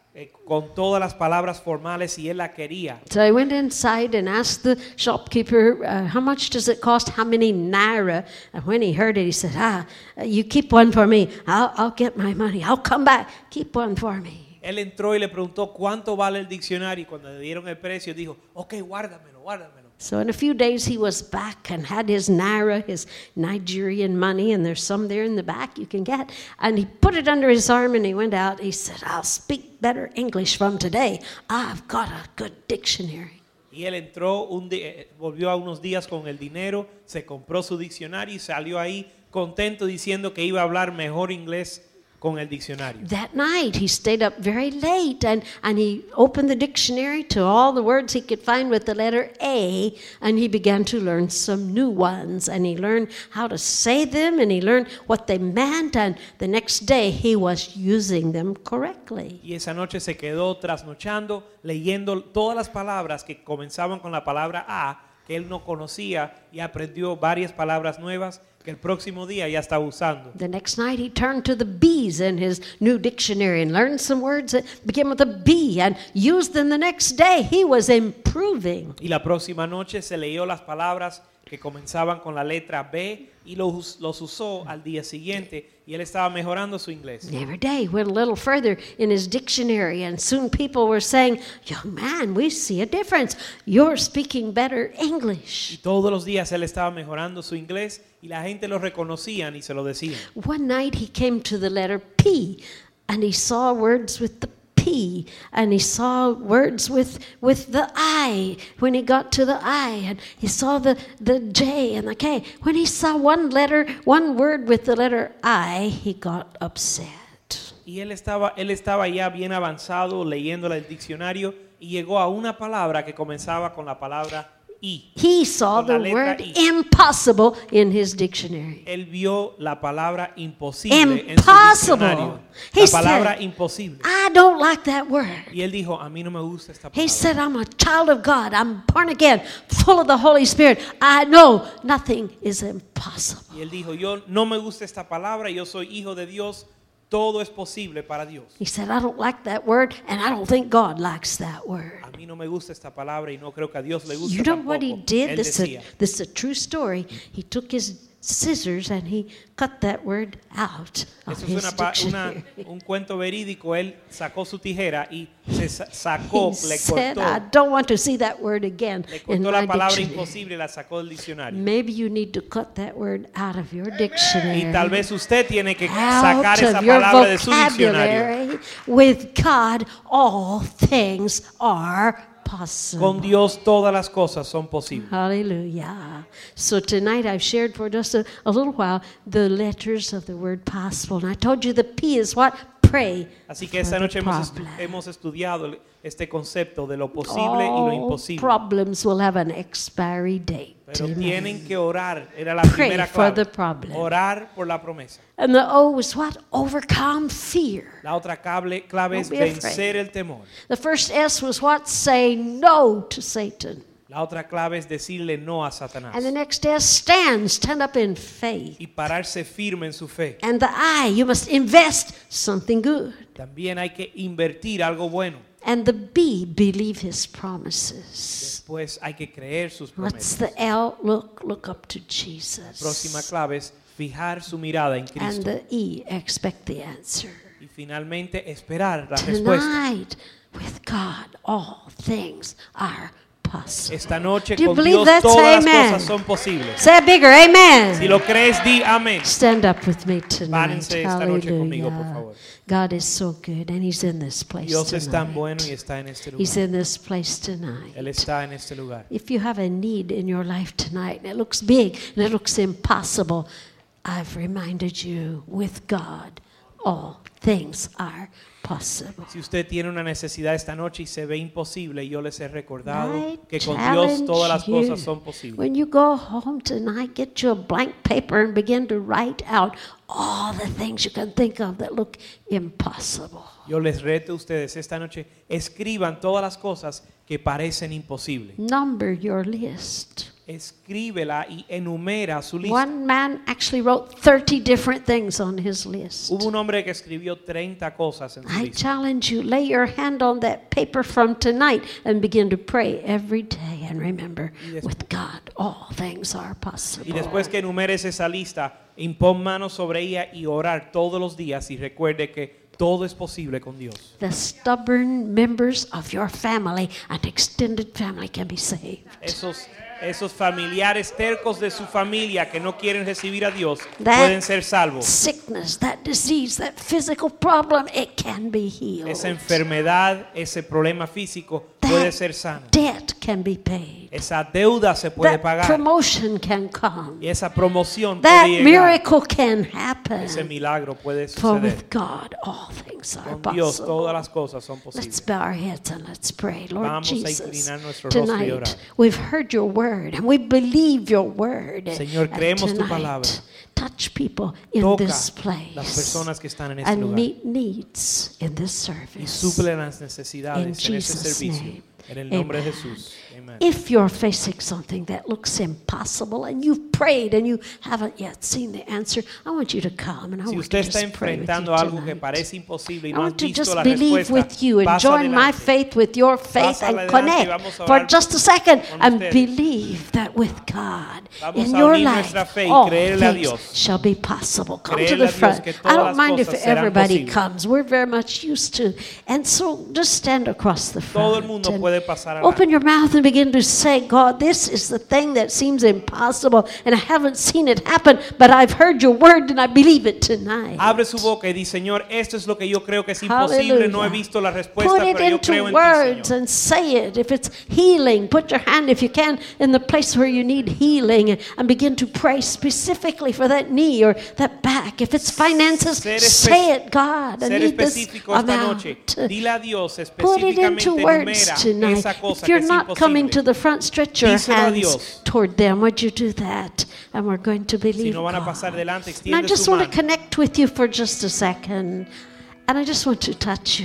Speaker 8: eh, con todas las palabras formales y él la quería.
Speaker 5: So I went inside and asked the shopkeeper, uh, how much does it cost? How many naira? And when he heard it, he said, ah, you keep one for me. I'll, I'll get my money. I'll come back. Keep one for me.
Speaker 8: Él entró y le preguntó cuánto vale el diccionario y cuando le dieron el precio dijo, ok, guárdamelo, guárdamelo.
Speaker 5: So in a few days he was back and had his naira, his Nigerian money, and there's some there in the back you can get. And he put it under his arm and he went out. He said, I'll speak better English from today. I've got a good dictionary.
Speaker 8: Y él entró, un di- eh, volvió a unos días con el dinero, se compró su diccionario y salió ahí contento diciendo que iba a hablar mejor inglés con el diccionario.
Speaker 5: That night he stayed up very late and, and he opened the dictionary to all the words he could find with the letter A, and he began to learn some new ones, and he learned how to say them, and he learned what they meant, and the next day he was using them correctly.
Speaker 8: Y esa noche se quedó trasnochando leyendo todas las palabras que comenzaban con la palabra A, que él no conocía, y aprendió varias palabras nuevas que el próximo día ya estaba usando.
Speaker 5: The next night he turned to the B's in his new dictionary and learned some words that began with a B and used them the next day. He was improving.
Speaker 8: Y la próxima noche se leyó las palabras que comenzaban con la letra B y los, los usó al día siguiente y él estaba mejorando su inglés.
Speaker 5: And every day he went a little further in his dictionary, and soon people were saying, young man, we see a difference. You're speaking better
Speaker 8: Y
Speaker 5: English.
Speaker 8: todos los días él estaba mejorando su inglés y la gente lo reconocían y se lo decían.
Speaker 5: One night he came to the letter P, and he saw words with the P, and he saw words with with the I when he got to the I, and he saw the, the J and the K. When he saw one letter, one word with the letter I, he got upset.
Speaker 8: Y él estaba, él estaba ya bien avanzado leyendo el diccionario y llegó a una palabra que comenzaba con la palabra I.
Speaker 5: He saw
Speaker 8: Con la
Speaker 5: the
Speaker 8: letra
Speaker 5: word
Speaker 8: I.
Speaker 5: impossible in his dictionary.
Speaker 8: Él vio la palabra imposible en su
Speaker 5: Impossible.
Speaker 8: diccionario.
Speaker 5: He
Speaker 8: La palabra
Speaker 5: said,
Speaker 8: imposible.
Speaker 5: I don't like that word.
Speaker 8: Y él dijo, a mí no me gusta esta
Speaker 5: He
Speaker 8: palabra.
Speaker 5: said, I'm a child of God. I'm born again, full of the Holy Spirit. I know nothing is impossible.
Speaker 8: Y él dijo, yo no me gusta esta palabra, yo soy hijo de Dios, todo es posible para Dios.
Speaker 5: He said, I don't like that word, and I don't think God likes that word.
Speaker 8: A mí no me gusta esta palabra y no creo que a Dios le guste
Speaker 5: You know
Speaker 8: tampoco.
Speaker 5: what he did?
Speaker 8: Él
Speaker 5: This is, a,
Speaker 8: decía,
Speaker 5: this is a true story. He took his scissors and he cut that word out of
Speaker 8: eso es
Speaker 5: his
Speaker 8: una, pa- una-
Speaker 5: dictionary.
Speaker 8: un cuento verídico. Él sacó su tijera y se sa- sacó,
Speaker 5: He
Speaker 8: le
Speaker 5: said,
Speaker 8: cortó,
Speaker 5: I don't want to see that word again
Speaker 8: le
Speaker 5: in
Speaker 8: cortó
Speaker 5: my
Speaker 8: la palabra
Speaker 5: dictionary.
Speaker 8: imposible y la sacó del diccionario.
Speaker 5: Maybe you need to cut that word out of your
Speaker 8: Y
Speaker 5: dictionary.
Speaker 8: tal vez usted tiene que
Speaker 5: Out
Speaker 8: sacar esa
Speaker 5: of your
Speaker 8: palabra de su diccionario.
Speaker 5: vocabulary. With God, all things are possible.
Speaker 8: Con Dios todas las cosas son posibles.
Speaker 5: Hallelujah. So tonight I've shared for just a, a little while the letters of the word possible. And I told you the P is what? Pray.
Speaker 8: Así que esta
Speaker 5: for the
Speaker 8: noche hemos, estu-
Speaker 5: problem.
Speaker 8: hemos estudiado el- este concepto de lo posible y lo
Speaker 5: All
Speaker 8: imposible.
Speaker 5: problems will have an expiry date.
Speaker 8: Pero
Speaker 5: Amen.
Speaker 8: tienen que orar. Era la
Speaker 5: Pray
Speaker 8: primera
Speaker 5: for the
Speaker 8: clave.
Speaker 5: problem.
Speaker 8: Orar por la promesa.
Speaker 5: And the O is what? Overcome fear.
Speaker 8: La otra clave, clave es
Speaker 5: Don't be afraid.
Speaker 8: vencer el temor.
Speaker 5: The first S was what? Say no to Satan.
Speaker 8: La otra clave es decirle no a Satanás.
Speaker 5: And the next S, stand. Stand up in faith.
Speaker 8: Y pararse firme en su fe.
Speaker 5: And the I, you must invest something good.
Speaker 8: También hay que invertir algo bueno.
Speaker 5: And the B, believe his promises.
Speaker 8: Después hay que creer sus
Speaker 5: What's
Speaker 8: promesas.
Speaker 5: the L? Look, look up to
Speaker 8: Próxima
Speaker 5: Jesus.
Speaker 8: clave es fijar su mirada en
Speaker 5: And
Speaker 8: Cristo.
Speaker 5: the E, expect the answer.
Speaker 8: Y finalmente esperar la respuesta.
Speaker 5: Tonight, with God, all things are possible.
Speaker 8: Esta noche
Speaker 5: Do you
Speaker 8: con
Speaker 5: believe
Speaker 8: Dios
Speaker 5: that?
Speaker 8: todas
Speaker 5: Say
Speaker 8: las
Speaker 5: amen.
Speaker 8: cosas son posibles.
Speaker 5: Say it bigger,
Speaker 8: Si
Speaker 5: amen.
Speaker 8: lo crees, di amén.
Speaker 5: Stand up with me tonight.
Speaker 8: Párense esta noche conmigo, por
Speaker 5: Hallelujah.
Speaker 8: favor.
Speaker 5: God is so good, and He's in this place
Speaker 8: Dios es tan
Speaker 5: tonight.
Speaker 8: bueno y está en este
Speaker 5: He's
Speaker 8: lugar.
Speaker 5: in this place tonight.
Speaker 8: Él está en este lugar.
Speaker 5: If you have a need in your life tonight, and it looks big and it looks impossible, I've reminded you, with God, all things are possible.
Speaker 8: Si usted tiene una necesidad esta noche y se ve imposible, yo les he recordado
Speaker 5: I
Speaker 8: que con Dios
Speaker 5: challenge
Speaker 8: todas las
Speaker 5: you.
Speaker 8: cosas son posibles.
Speaker 5: When you go home tonight, get you a blank paper and begin to write out all the things you can think of that look impossible.
Speaker 8: Yo les reto a ustedes esta noche, escriban todas las cosas que parecen imposibles.
Speaker 5: Number your list.
Speaker 8: escríbela y enumera su lista.
Speaker 5: One man actually wrote thirty different things on his list.
Speaker 8: Hubo un hombre que escribió treinta cosas en su
Speaker 5: I
Speaker 8: lista.
Speaker 5: challenge you, lay your hand on that paper from tonight and begin to pray every day and remember,
Speaker 8: Y des-
Speaker 5: with God, all things are
Speaker 8: Y
Speaker 5: possible.
Speaker 8: después que enumeres esa lista, impon manos sobre ella y orar todos los días y recuerde que todo es posible con Dios.
Speaker 5: The stubborn members of your family and extended family can be saved.
Speaker 8: Esos, esos familiares tercos de su familia que no quieren recibir a Dios
Speaker 5: That
Speaker 8: pueden ser salvos.
Speaker 5: sickness, that disease, that physical problem, it can be healed.
Speaker 8: Esa enfermedad, ese problema físico puede ser sano.
Speaker 5: Debt can be paid.
Speaker 8: Esa deuda se puede
Speaker 5: That
Speaker 8: pagar.
Speaker 5: promotion can come.
Speaker 8: Y esa promoción
Speaker 5: That
Speaker 8: puede llegar.
Speaker 5: miracle can happen.
Speaker 8: Ese milagro puede
Speaker 5: For with
Speaker 8: suceder.
Speaker 5: God, all things are
Speaker 8: Con Dios
Speaker 5: possible.
Speaker 8: todas las cosas son
Speaker 5: Let's
Speaker 8: posibles.
Speaker 5: bow our heads and let's pray. Lord
Speaker 8: Vamos a
Speaker 5: Jesus,
Speaker 8: inclinar nuestro rostro y
Speaker 5: tonight
Speaker 8: orar.
Speaker 5: we've heard your word and we believe your word.
Speaker 8: Señor,
Speaker 5: And
Speaker 8: creemos tu
Speaker 5: tonight,
Speaker 8: palabra.
Speaker 5: touch people in
Speaker 8: Toca
Speaker 5: this place
Speaker 8: las personas que están en este
Speaker 5: and
Speaker 8: lugar
Speaker 5: meet needs in this
Speaker 8: y
Speaker 5: service.
Speaker 8: suple las
Speaker 5: In
Speaker 8: necesidades en ese
Speaker 5: Jesus'
Speaker 8: servicio.
Speaker 5: name.
Speaker 8: En el nombre de
Speaker 5: Amen.
Speaker 8: Jesús. Amén.
Speaker 5: If you're facing something that looks impossible and you've prayed and you haven't yet seen the answer, I want you to come and I
Speaker 8: Si
Speaker 5: want
Speaker 8: usted
Speaker 5: to
Speaker 8: está
Speaker 5: just pray with you
Speaker 8: enfrentando algo que
Speaker 5: tonight.
Speaker 8: parece imposible y
Speaker 5: I
Speaker 8: no has
Speaker 5: want to
Speaker 8: visto
Speaker 5: just
Speaker 8: la
Speaker 5: believe
Speaker 8: respuesta,
Speaker 5: with you and
Speaker 8: pasa
Speaker 5: join my
Speaker 8: adelante.
Speaker 5: faith with your faith
Speaker 8: Pasa
Speaker 5: and
Speaker 8: adelante y
Speaker 5: connect
Speaker 8: vamos a
Speaker 5: for
Speaker 8: orar
Speaker 5: just a second
Speaker 8: con
Speaker 5: and
Speaker 8: ustedes.
Speaker 5: believe that with God
Speaker 8: Vamos
Speaker 5: in
Speaker 8: a
Speaker 5: your
Speaker 8: unir
Speaker 5: life
Speaker 8: nuestra fe y
Speaker 5: all
Speaker 8: creerle a
Speaker 5: things
Speaker 8: Dios.
Speaker 5: shall be possible. Come to
Speaker 8: Creerle
Speaker 5: the
Speaker 8: a Dios
Speaker 5: front.
Speaker 8: que
Speaker 5: I
Speaker 8: todas
Speaker 5: don't
Speaker 8: las
Speaker 5: mind if
Speaker 8: cosas serán
Speaker 5: everybody
Speaker 8: posibles.
Speaker 5: comes. We're very much used to. And so just stand across the front.
Speaker 8: Todo el mundo
Speaker 5: and
Speaker 8: puede pasar
Speaker 5: open
Speaker 8: adelante.
Speaker 5: your mouth and begin to say, God, this is the thing that seems impossible and I haven't seen it happen, but I've heard your word and I believe it tonight.
Speaker 8: Abre su boca y dice, Señor, esto es lo que yo creo que es imposible. No he
Speaker 5: Hallelujah.
Speaker 8: visto la respuesta,
Speaker 5: Put it
Speaker 8: pero yo
Speaker 5: into
Speaker 8: creo en ti,
Speaker 5: words
Speaker 8: Señor.
Speaker 5: and say it. If it's healing, put your hand, if you can, in the place where you need healing and begin to pray specifically for that knee or that back. If it's finances,
Speaker 8: Ser espe-
Speaker 5: say it, God. I
Speaker 8: Ser
Speaker 5: need this
Speaker 8: específico esta noche.
Speaker 5: amount.
Speaker 8: Dile a Dios
Speaker 5: Put it
Speaker 8: específicamente,
Speaker 5: into words
Speaker 8: enumera
Speaker 5: tonight.
Speaker 8: esa cosa
Speaker 5: If you're
Speaker 8: que es
Speaker 5: not coming to
Speaker 8: imposible.
Speaker 5: the front, stretch your
Speaker 8: Díselo a
Speaker 5: hands
Speaker 8: Dios.
Speaker 5: toward them. Would you do that? And we're going to believe
Speaker 8: Si no van a
Speaker 5: God.
Speaker 8: pasar delante,
Speaker 5: And I
Speaker 8: extiende
Speaker 5: just
Speaker 8: su
Speaker 5: want to
Speaker 8: mano.
Speaker 5: connect with you for just a second. And I just want to touch you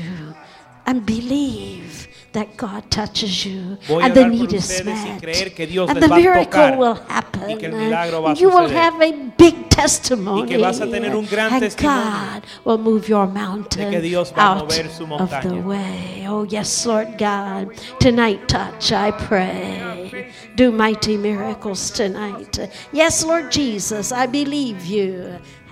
Speaker 5: and believe that God touches you
Speaker 8: Voy a
Speaker 5: and the
Speaker 8: orar por
Speaker 5: need is
Speaker 8: ustedes y
Speaker 5: met.
Speaker 8: creer que Dios
Speaker 5: And
Speaker 8: les
Speaker 5: the
Speaker 8: va a
Speaker 5: miracle
Speaker 8: tocar
Speaker 5: will happen.
Speaker 8: y que el milagro va a
Speaker 5: And you will
Speaker 8: suceder.
Speaker 5: have a big testimony.
Speaker 8: Y que vas a tener un gran
Speaker 5: and
Speaker 8: testimonio
Speaker 5: God will move your mountain
Speaker 8: de que Dios va a
Speaker 5: out
Speaker 8: mover su
Speaker 5: of the
Speaker 8: montaña.
Speaker 5: way. Oh yes, Lord God. Tonight touch, I pray. Do mighty miracles tonight. Yes, Lord Jesus, I believe you.